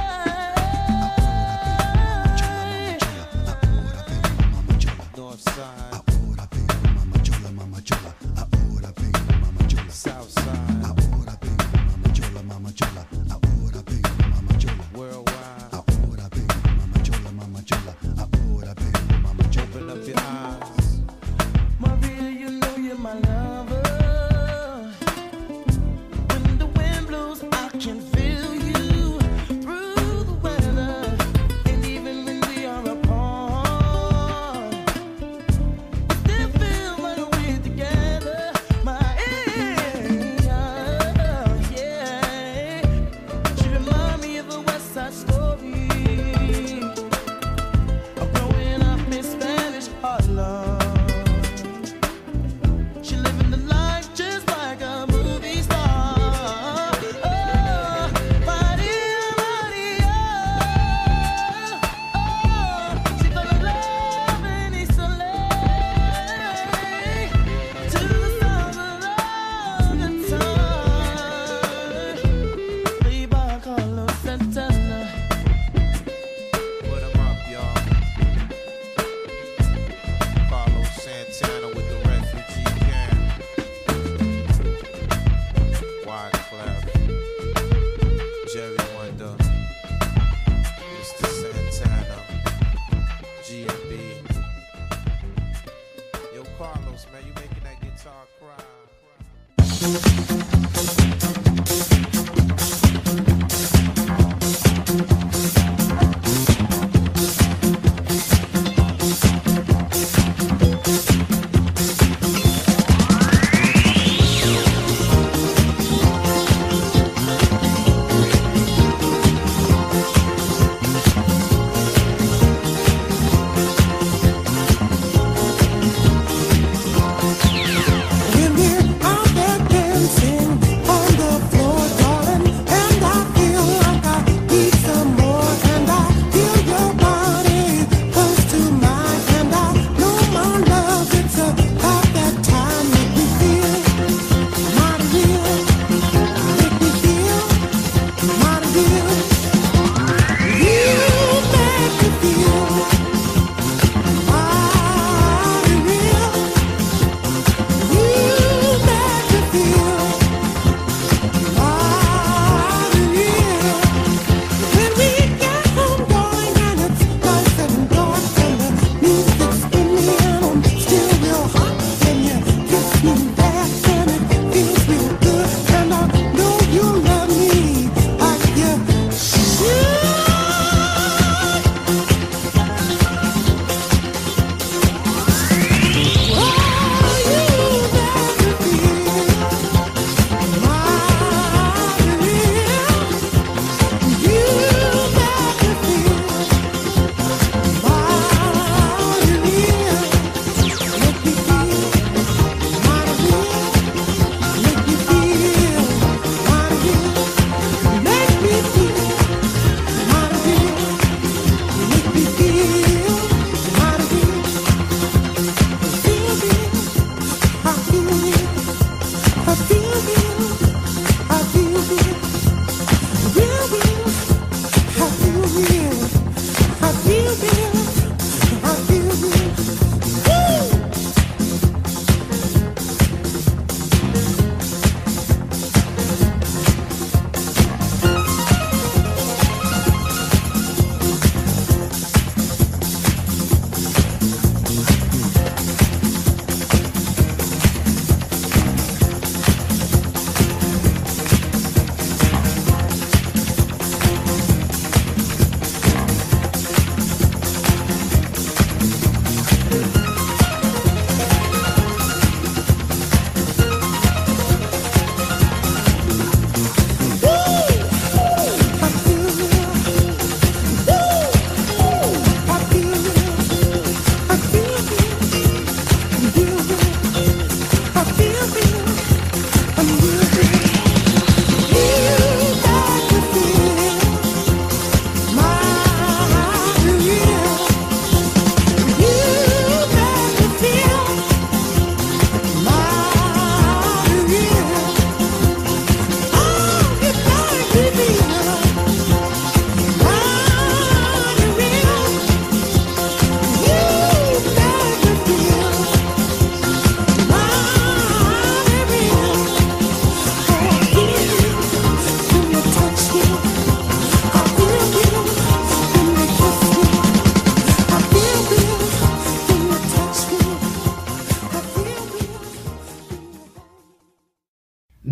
S10: North Side,
S2: Ahora vengo, mama chola, mama chola. Ahora vengo, mama chola.
S10: South Side,
S2: Ahora vengo, mama chola, mama chola. Ahora vengo, mama chola.
S10: worldwide.
S2: Ahora vengo, mama chola, mama chola. Ahora vengo, mama chola.
S10: Open up your eyes.
S11: Maria, you know you're my lover. When the wind blows, I can feel you through the weather. And even when we are apart, we still feel like we're together. Yeah. She remind me of a West Side Story. I'm growing up in Spanish Harlem. She living the life just like a movie star. Maria, Maria, she fell in love in East LA to the sound of the guitar. Played by Carlos Santana.
S10: Put 'em up, y'all. Carlos Santana with the refugee camp. Wyclef, Jerry Wonder, Mr. Santana, GMB. Yo, Carlos, man, you making that guitar cry.
S11: When we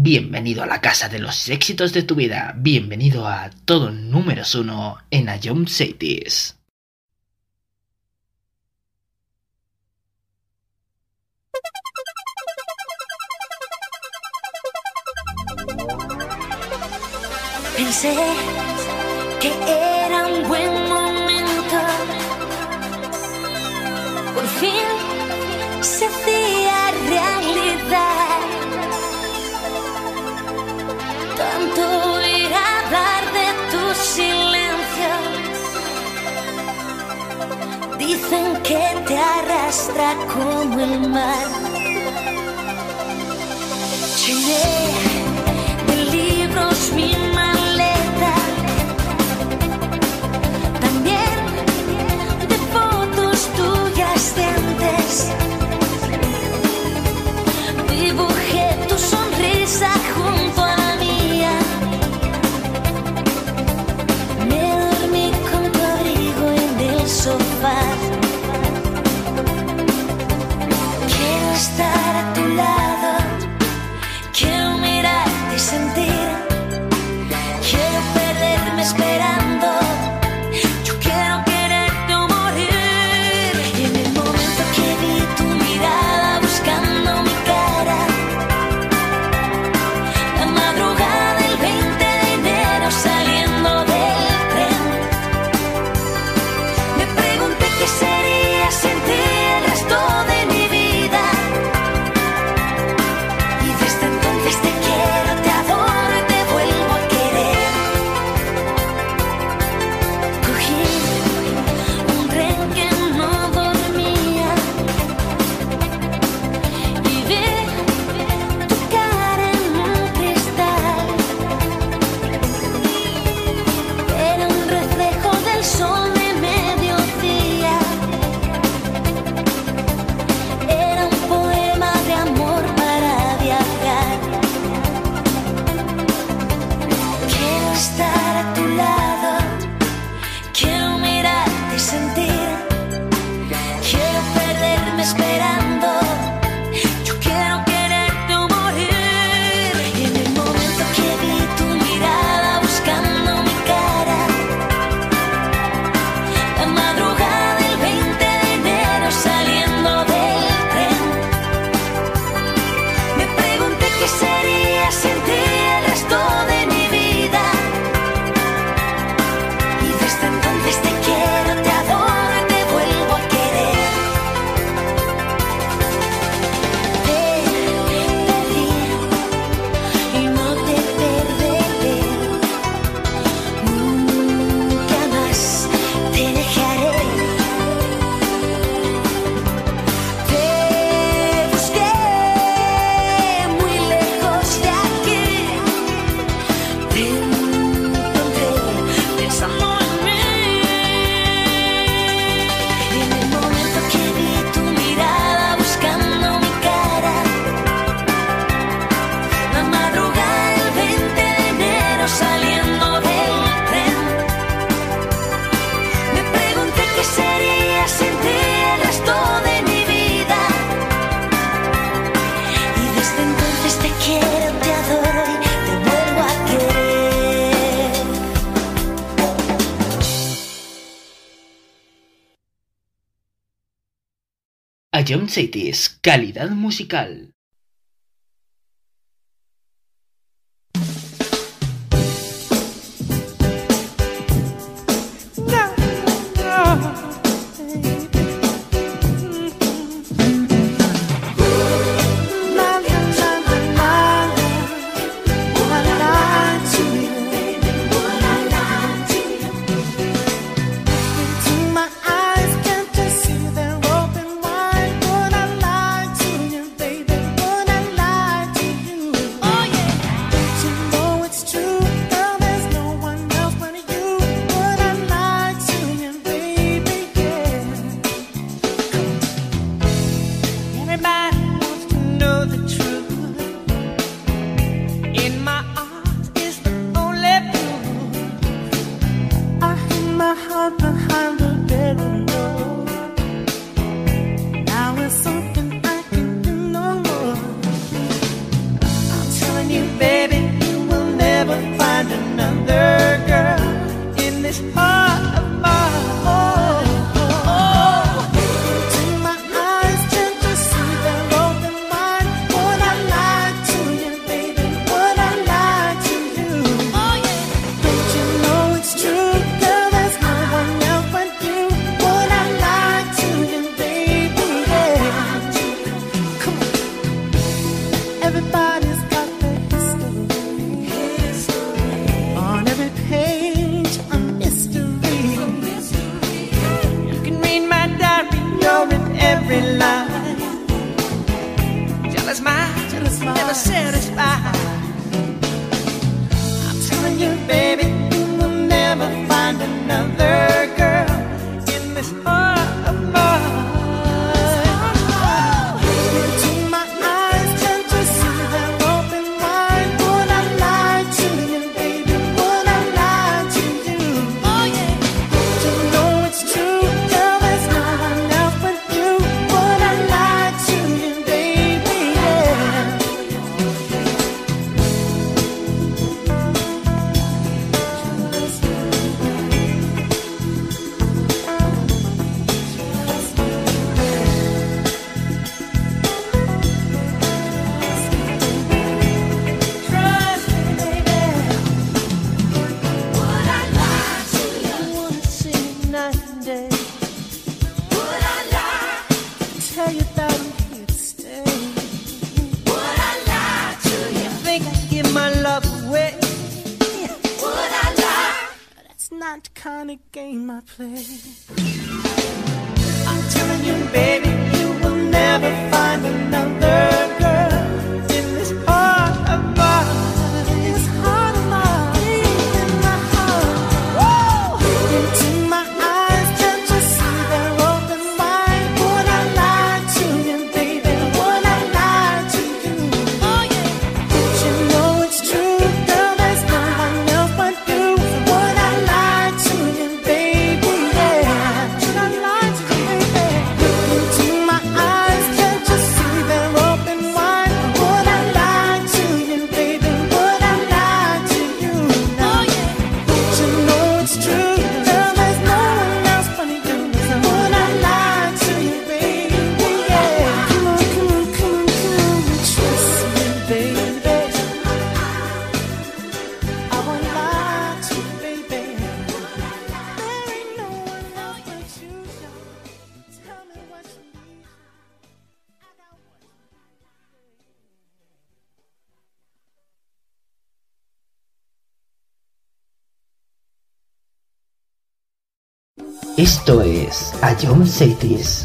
S1: bienvenido a la casa de los éxitos de tu vida, bienvenido a todo números 1 en Ion Cities.
S4: Pensé que era un buen momento, por fin se hacía realidad. Tanto oír hablar de tu silencio, dicen que te arrastra como el mar. Llené de libros mi maleta, también de fotos tuyas de antes. Dibujé tu sonrisa junto a la mía, me dormí con tu abrigo en el sofá. Quiero estar a tu lado, quiero mirarte y sentir, quiero perderme esperando, yo quiero quererte o morir. Y en el momento que vi tu mirada buscando mi cara, la madrugada del 20 de enero saliendo del tren, me pregunté qué sería sin ti el resto de mi vida. Y desde entonces te quiero, te adoro y te vuelvo a querer. Cogí un tren que no dormía y vi tu cara en un cristal. Era un reflejo del sol de mediodía, era un poema de amor para viajar. Quiero estar a tu lado, quiero mirarte y sentir, quiero perderme esperando, yo quiero quererte o morir. Y en el momento que vi tu mirada buscando mi cara, la madrugada del 20 de enero saliendo del tren, me pregunté qué sería sin ti el resto de mi vida. Y desde entonces te quiero, te adoro y te vuelvo a querer. Te perdí y no te perderé, nunca más te dejaré. Te busqué muy lejos de aquí, te encontré pensando en mí. Y en el momento que vi tu mirada buscando mi cara, la madrugada del 20 de enero saliendo del tren, me pregunté qué sería sin ti el resto de mi vida. Y desde entonces te quiero, te adoro y te vuelvo a querer.
S1: Ion Cities, calidad musical.
S2: My eyes can't you see they're open wide? Would I lie to you, baby? jealous mind, never satisfied. I'm telling you, baby, you will never find another girl in this heart of mine. Into my eyes, can't you see they're open wide? Would I lie to you, baby? Would I lie to you? Oh yeah. You know it's true, girl, there's no one else but you. Would I lie to you, baby? Yeah. Trust me, baby. Would I lie to you? I wanna see you night and day. Would I lie? Tell you that I'm here to stay. Would I lie to you? Think I'd give my love away? Would I lie? That's not the kind of game I play. I'm telling you, baby, you will never find another girl in this heart of mine. This heart of mine, in my heart. Into my eyes, can't you see they're open wide? Would I lie to you, baby? Would I lie to you? Oh yeah. You know it's true, girl, there's no one else but you. Would I lie to you, baby? Yeah. Should I lie to you, baby? Into my eyes, can't you see they're open wide? Would I lie to you, baby? Would I lie to you? Oh yeah. You know it's true, girl, there's no one else but you. Would I lie to you, baby? Yeah. Come on, come on, come on, come on. Trust me, baby. I won't lie to you, baby. There ain't no one else but you. Tell me what you need. I got what you need.
S1: Esto es A John Cities.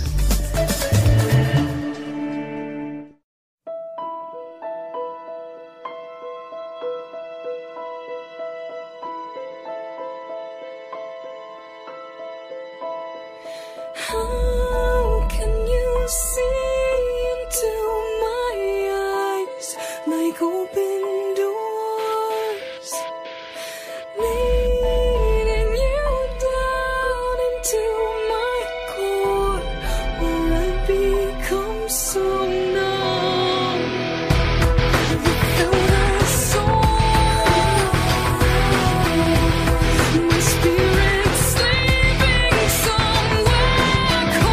S5: How can you see into my eyes like open doors, leading you down into my core, where I become so numb? Without a soul, my spirit sleeping somewhere.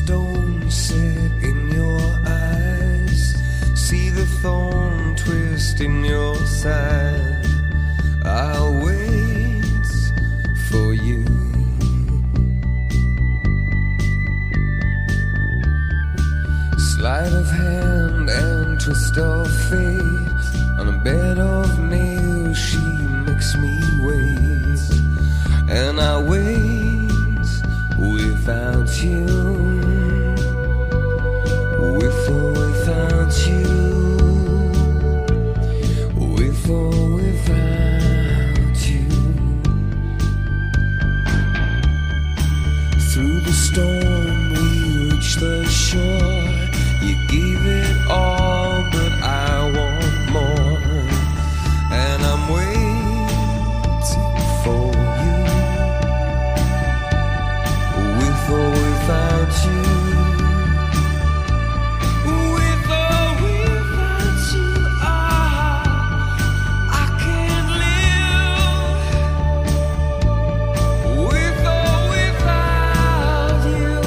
S9: stone set in your eyes, see the thorn twist in your side. I'll wait for you. Sleight of hand and twist of fate, on a bed of nails she makes me wait, and I wait without you, with or without you, with or without you. Through the storm we reach the shore. You gave it all, but I want more, and I'm waiting for you, with or without you, with or without you. I can't live with or without you.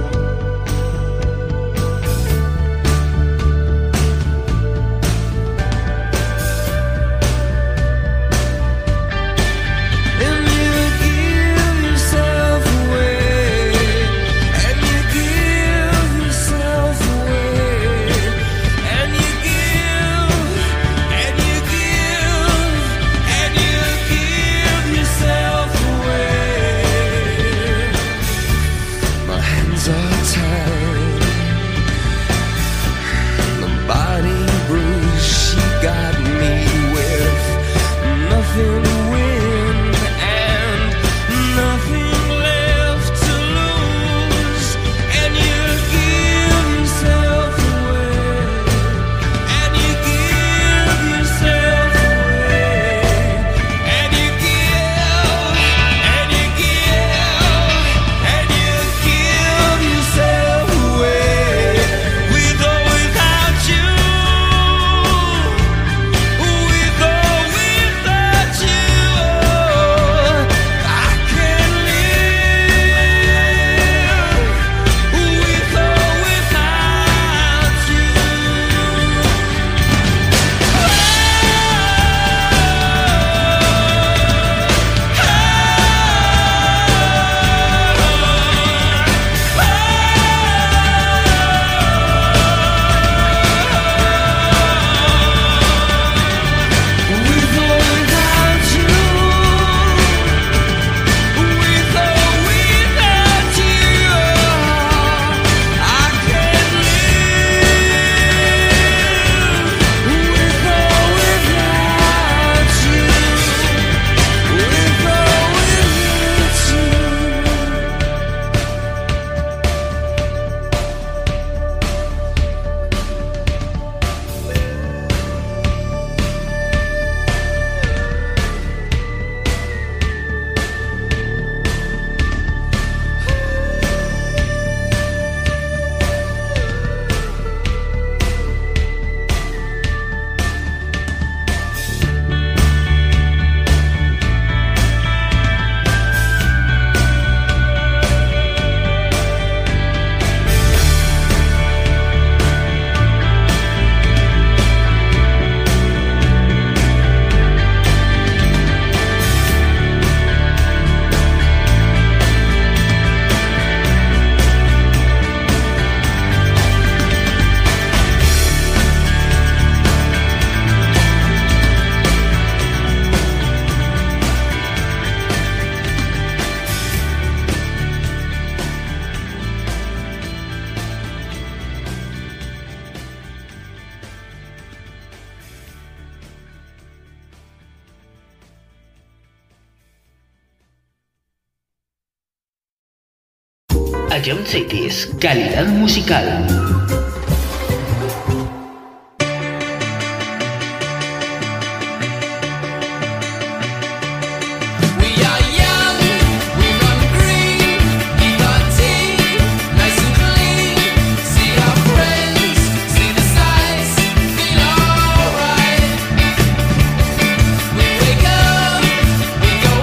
S1: Ion Cities, calidad musical.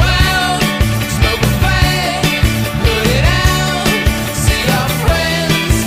S12: Friends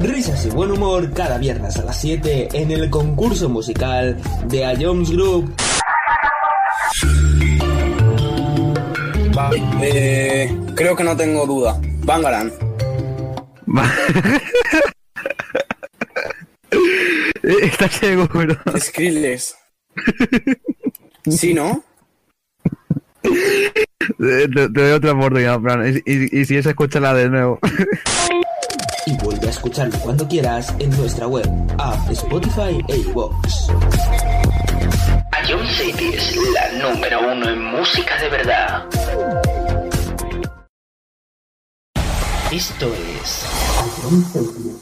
S8: Risas y buen humor cada viernes a las 7 en el concurso musical de A Jones Group.
S12: Vale, creo que no tengo duda. Bangarang.
S13: ¿Estás seguro?
S12: Skrillex. ¿Sí, no?
S13: Te doy otra oportunidad, Fran. Y si es, escúchala de nuevo.
S8: Y vuelve a escucharlo cuando quieras en nuestra web, app, Spotify e iVoox.
S1: A Jump Cities, la número 1 en música de verdad. Esto es A Jump Cities.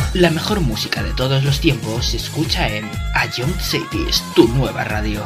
S1: La mejor música de todos los tiempos se escucha en A Young Cities, tu nueva radio.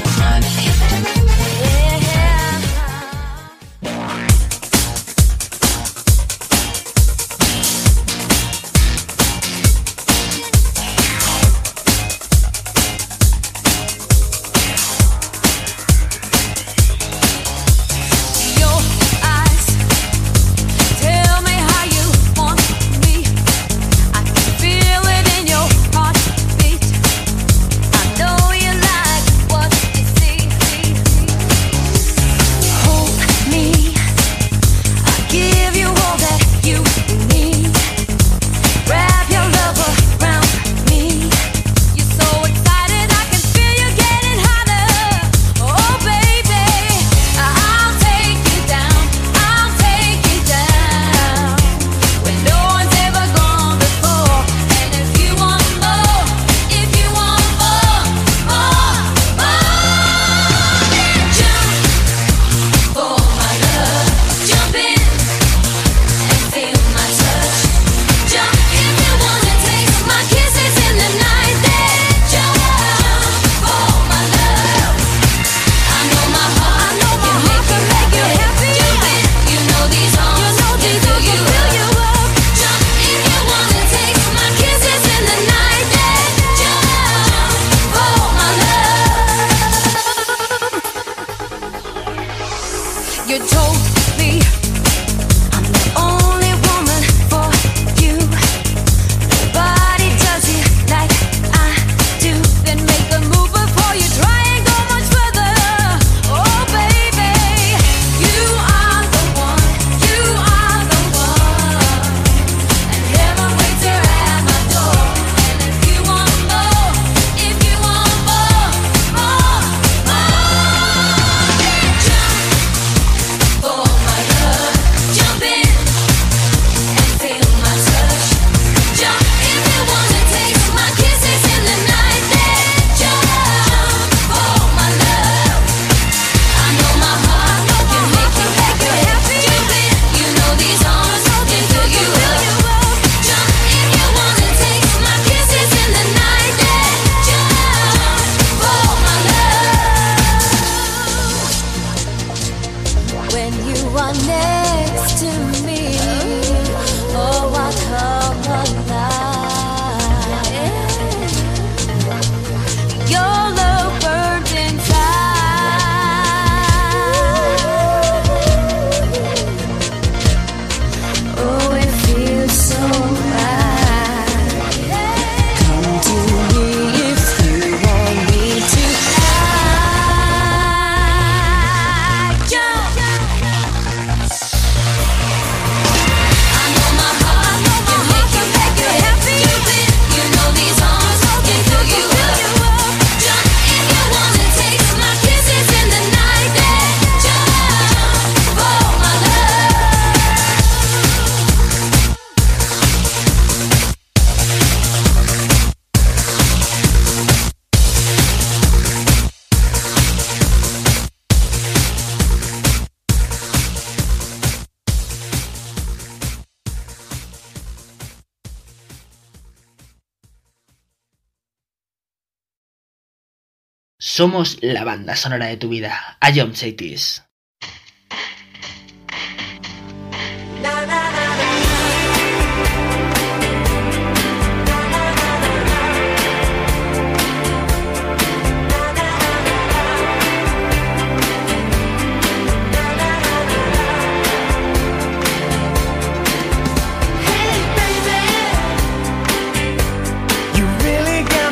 S1: Somos la banda sonora de tu vida. A Young Cities.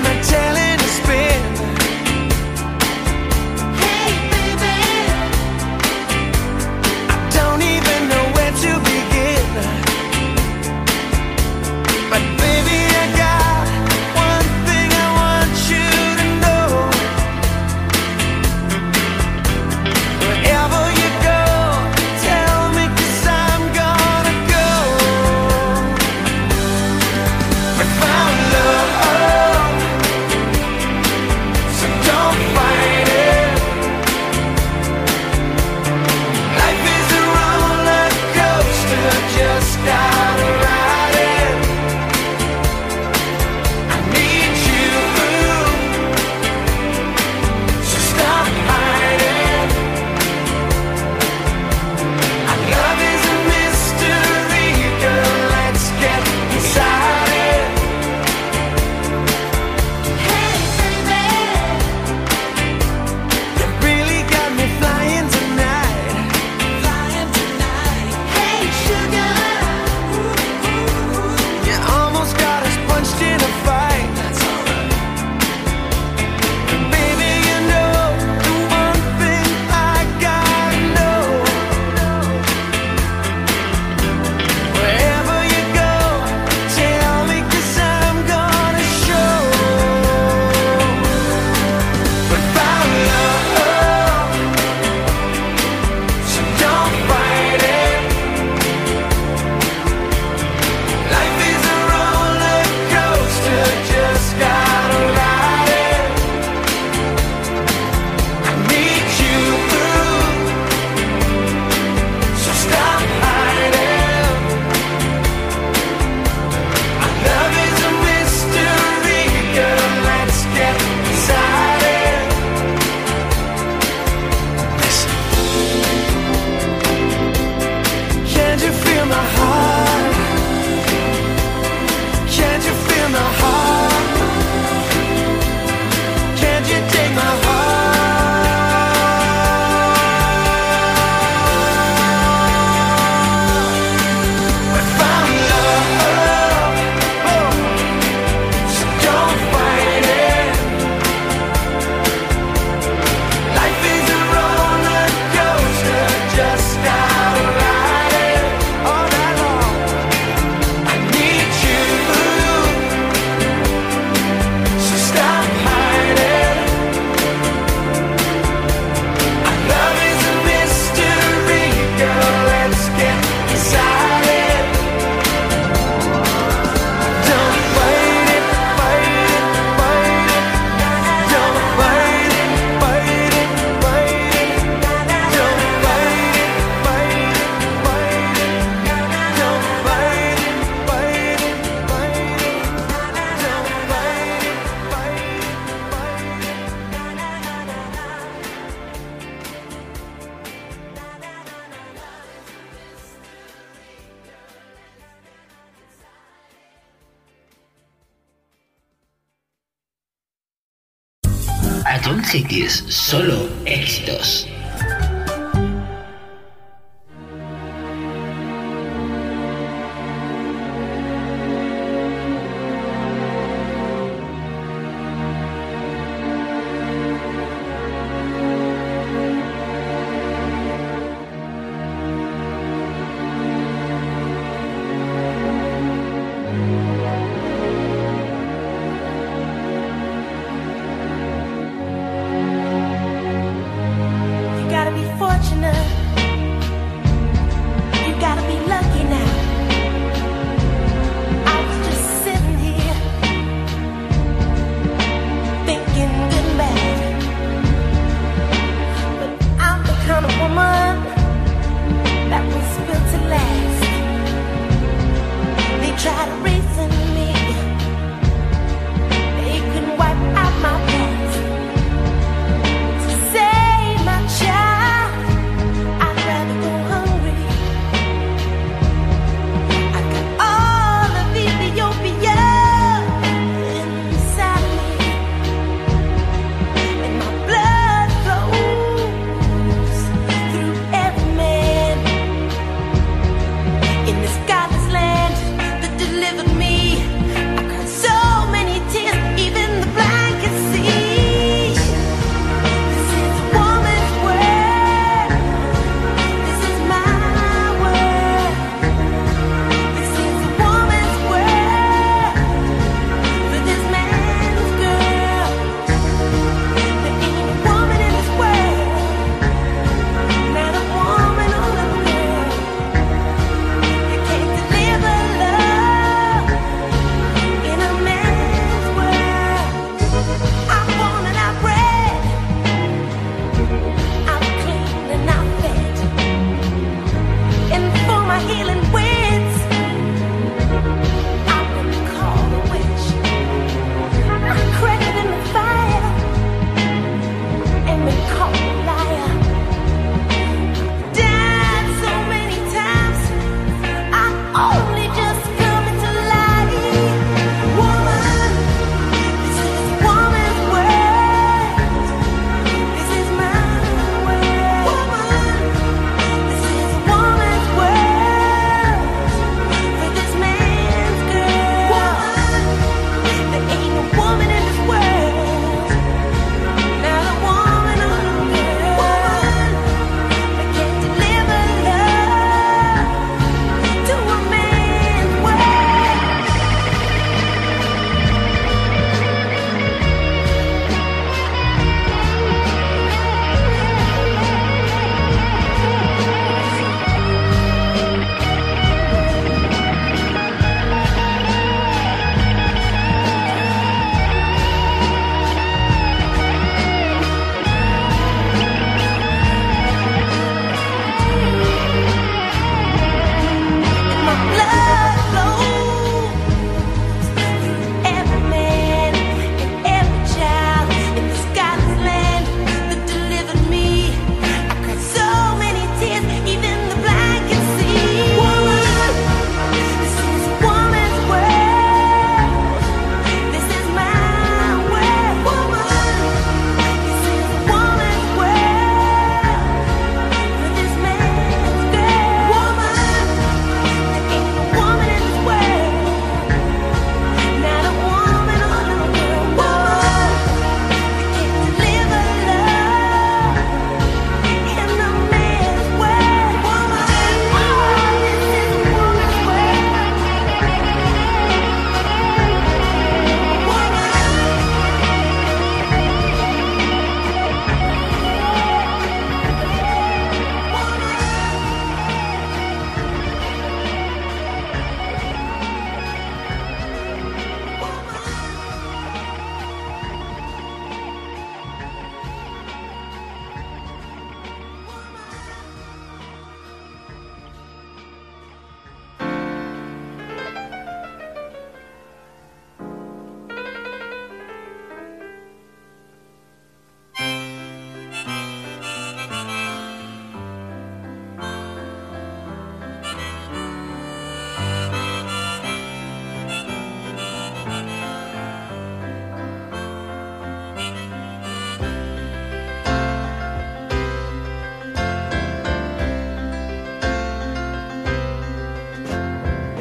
S14: Hey baby,
S1: John Cities, solo éxitos.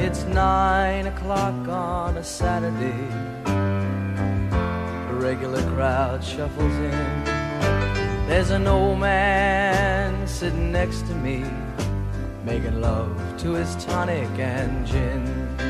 S14: It's 9 o'clock on a Saturday. A regular crowd shuffles in. There's an old man sitting next to me, making love to his tonic and gin.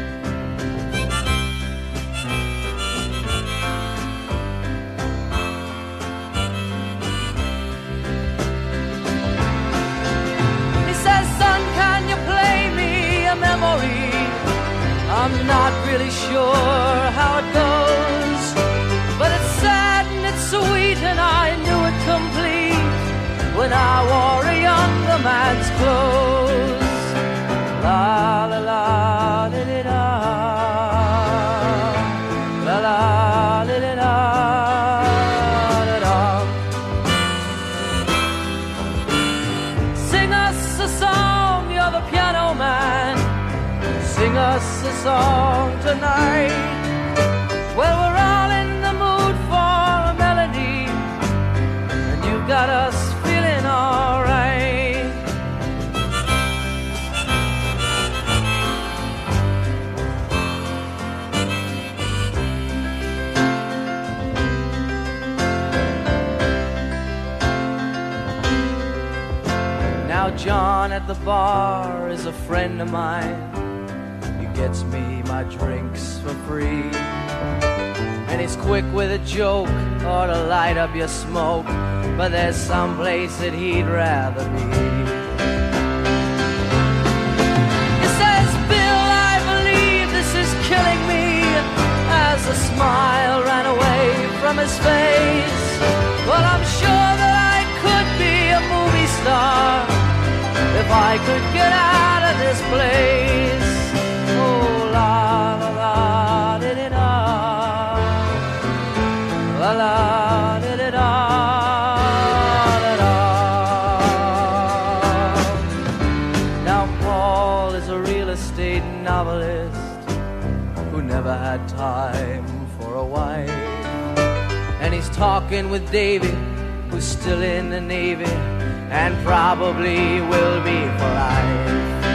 S14: He says, son, can you play me a memory? I'm not really sure how it goes, but it's sad and it's sweet and I knew it complete when I wore a younger man's clothes. La la la da da da, la la da da da da da. Sing us a song, you're the piano man. Sing us a song tonight. Well, we're all in the mood for a melody, and you got us feeling alright. Now John at the bar is a friend of mine. He gets me my drinks for free, and he's quick with a joke or to light up your smoke, but there's some place that he'd rather be. He says, Bill, I believe this is killing me, as a smile ran away from his face. Well, I'm sure that I could be a movie star if I could get out of this place. Oh, la la la da da da, la la da da da da da. Now Paul is a real estate novelist who never had time for a wife, and he's talking with Davy, who's still in the Navy and probably will be for life.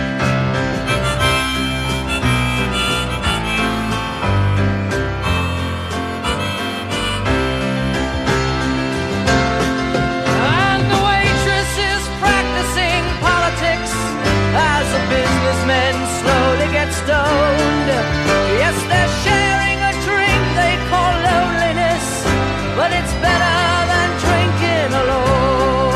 S14: And the waitress is practicing politics as the businessmen slowly get stoned. Yes, they're sharing a drink they call loneliness, but it's better than drinking alone.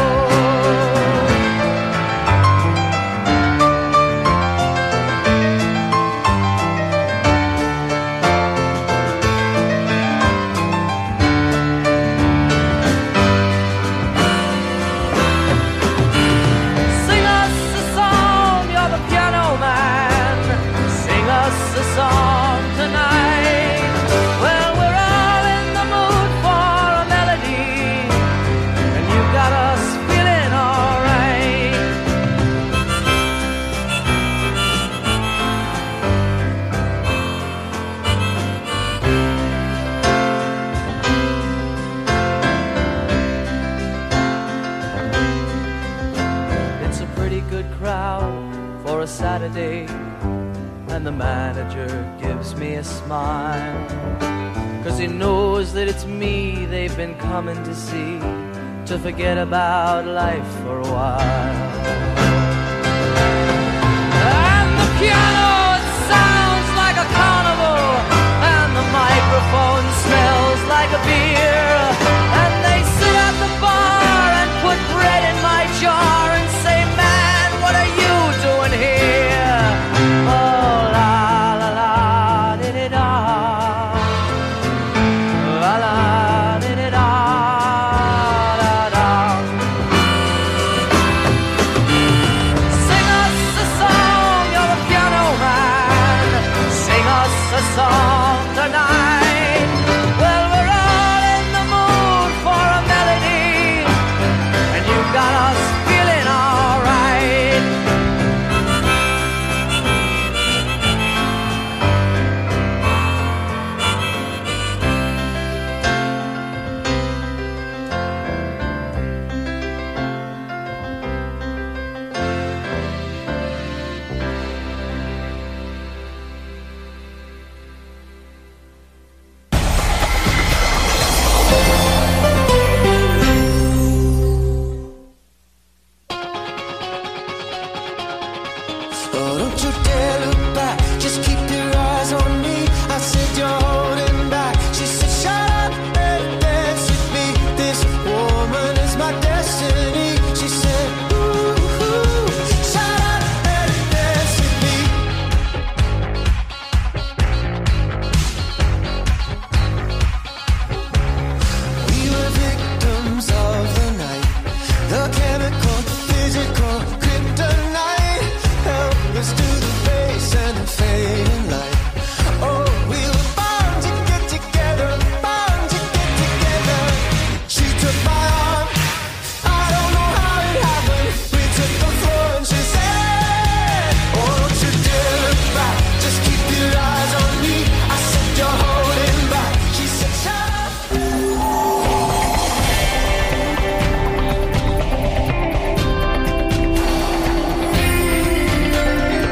S14: Sing us a song, you're the piano man. Sing us a song tonight. Well, we're all in the mood for a melody, and you got us feeling alright. It's a pretty good crowd for a Saturday, and the manager gives me a smile, 'cause he knows that it's me they've been coming to see, to forget about life for a while. And the piano, it sounds like a carnival, and the microphone smells like a beer, and they sit at the bar and put bread in my jar and say, man, what are you doing here? Oh, la la la da da da, la la da da da da da. Sing us a song, you're the piano man. Sing us a song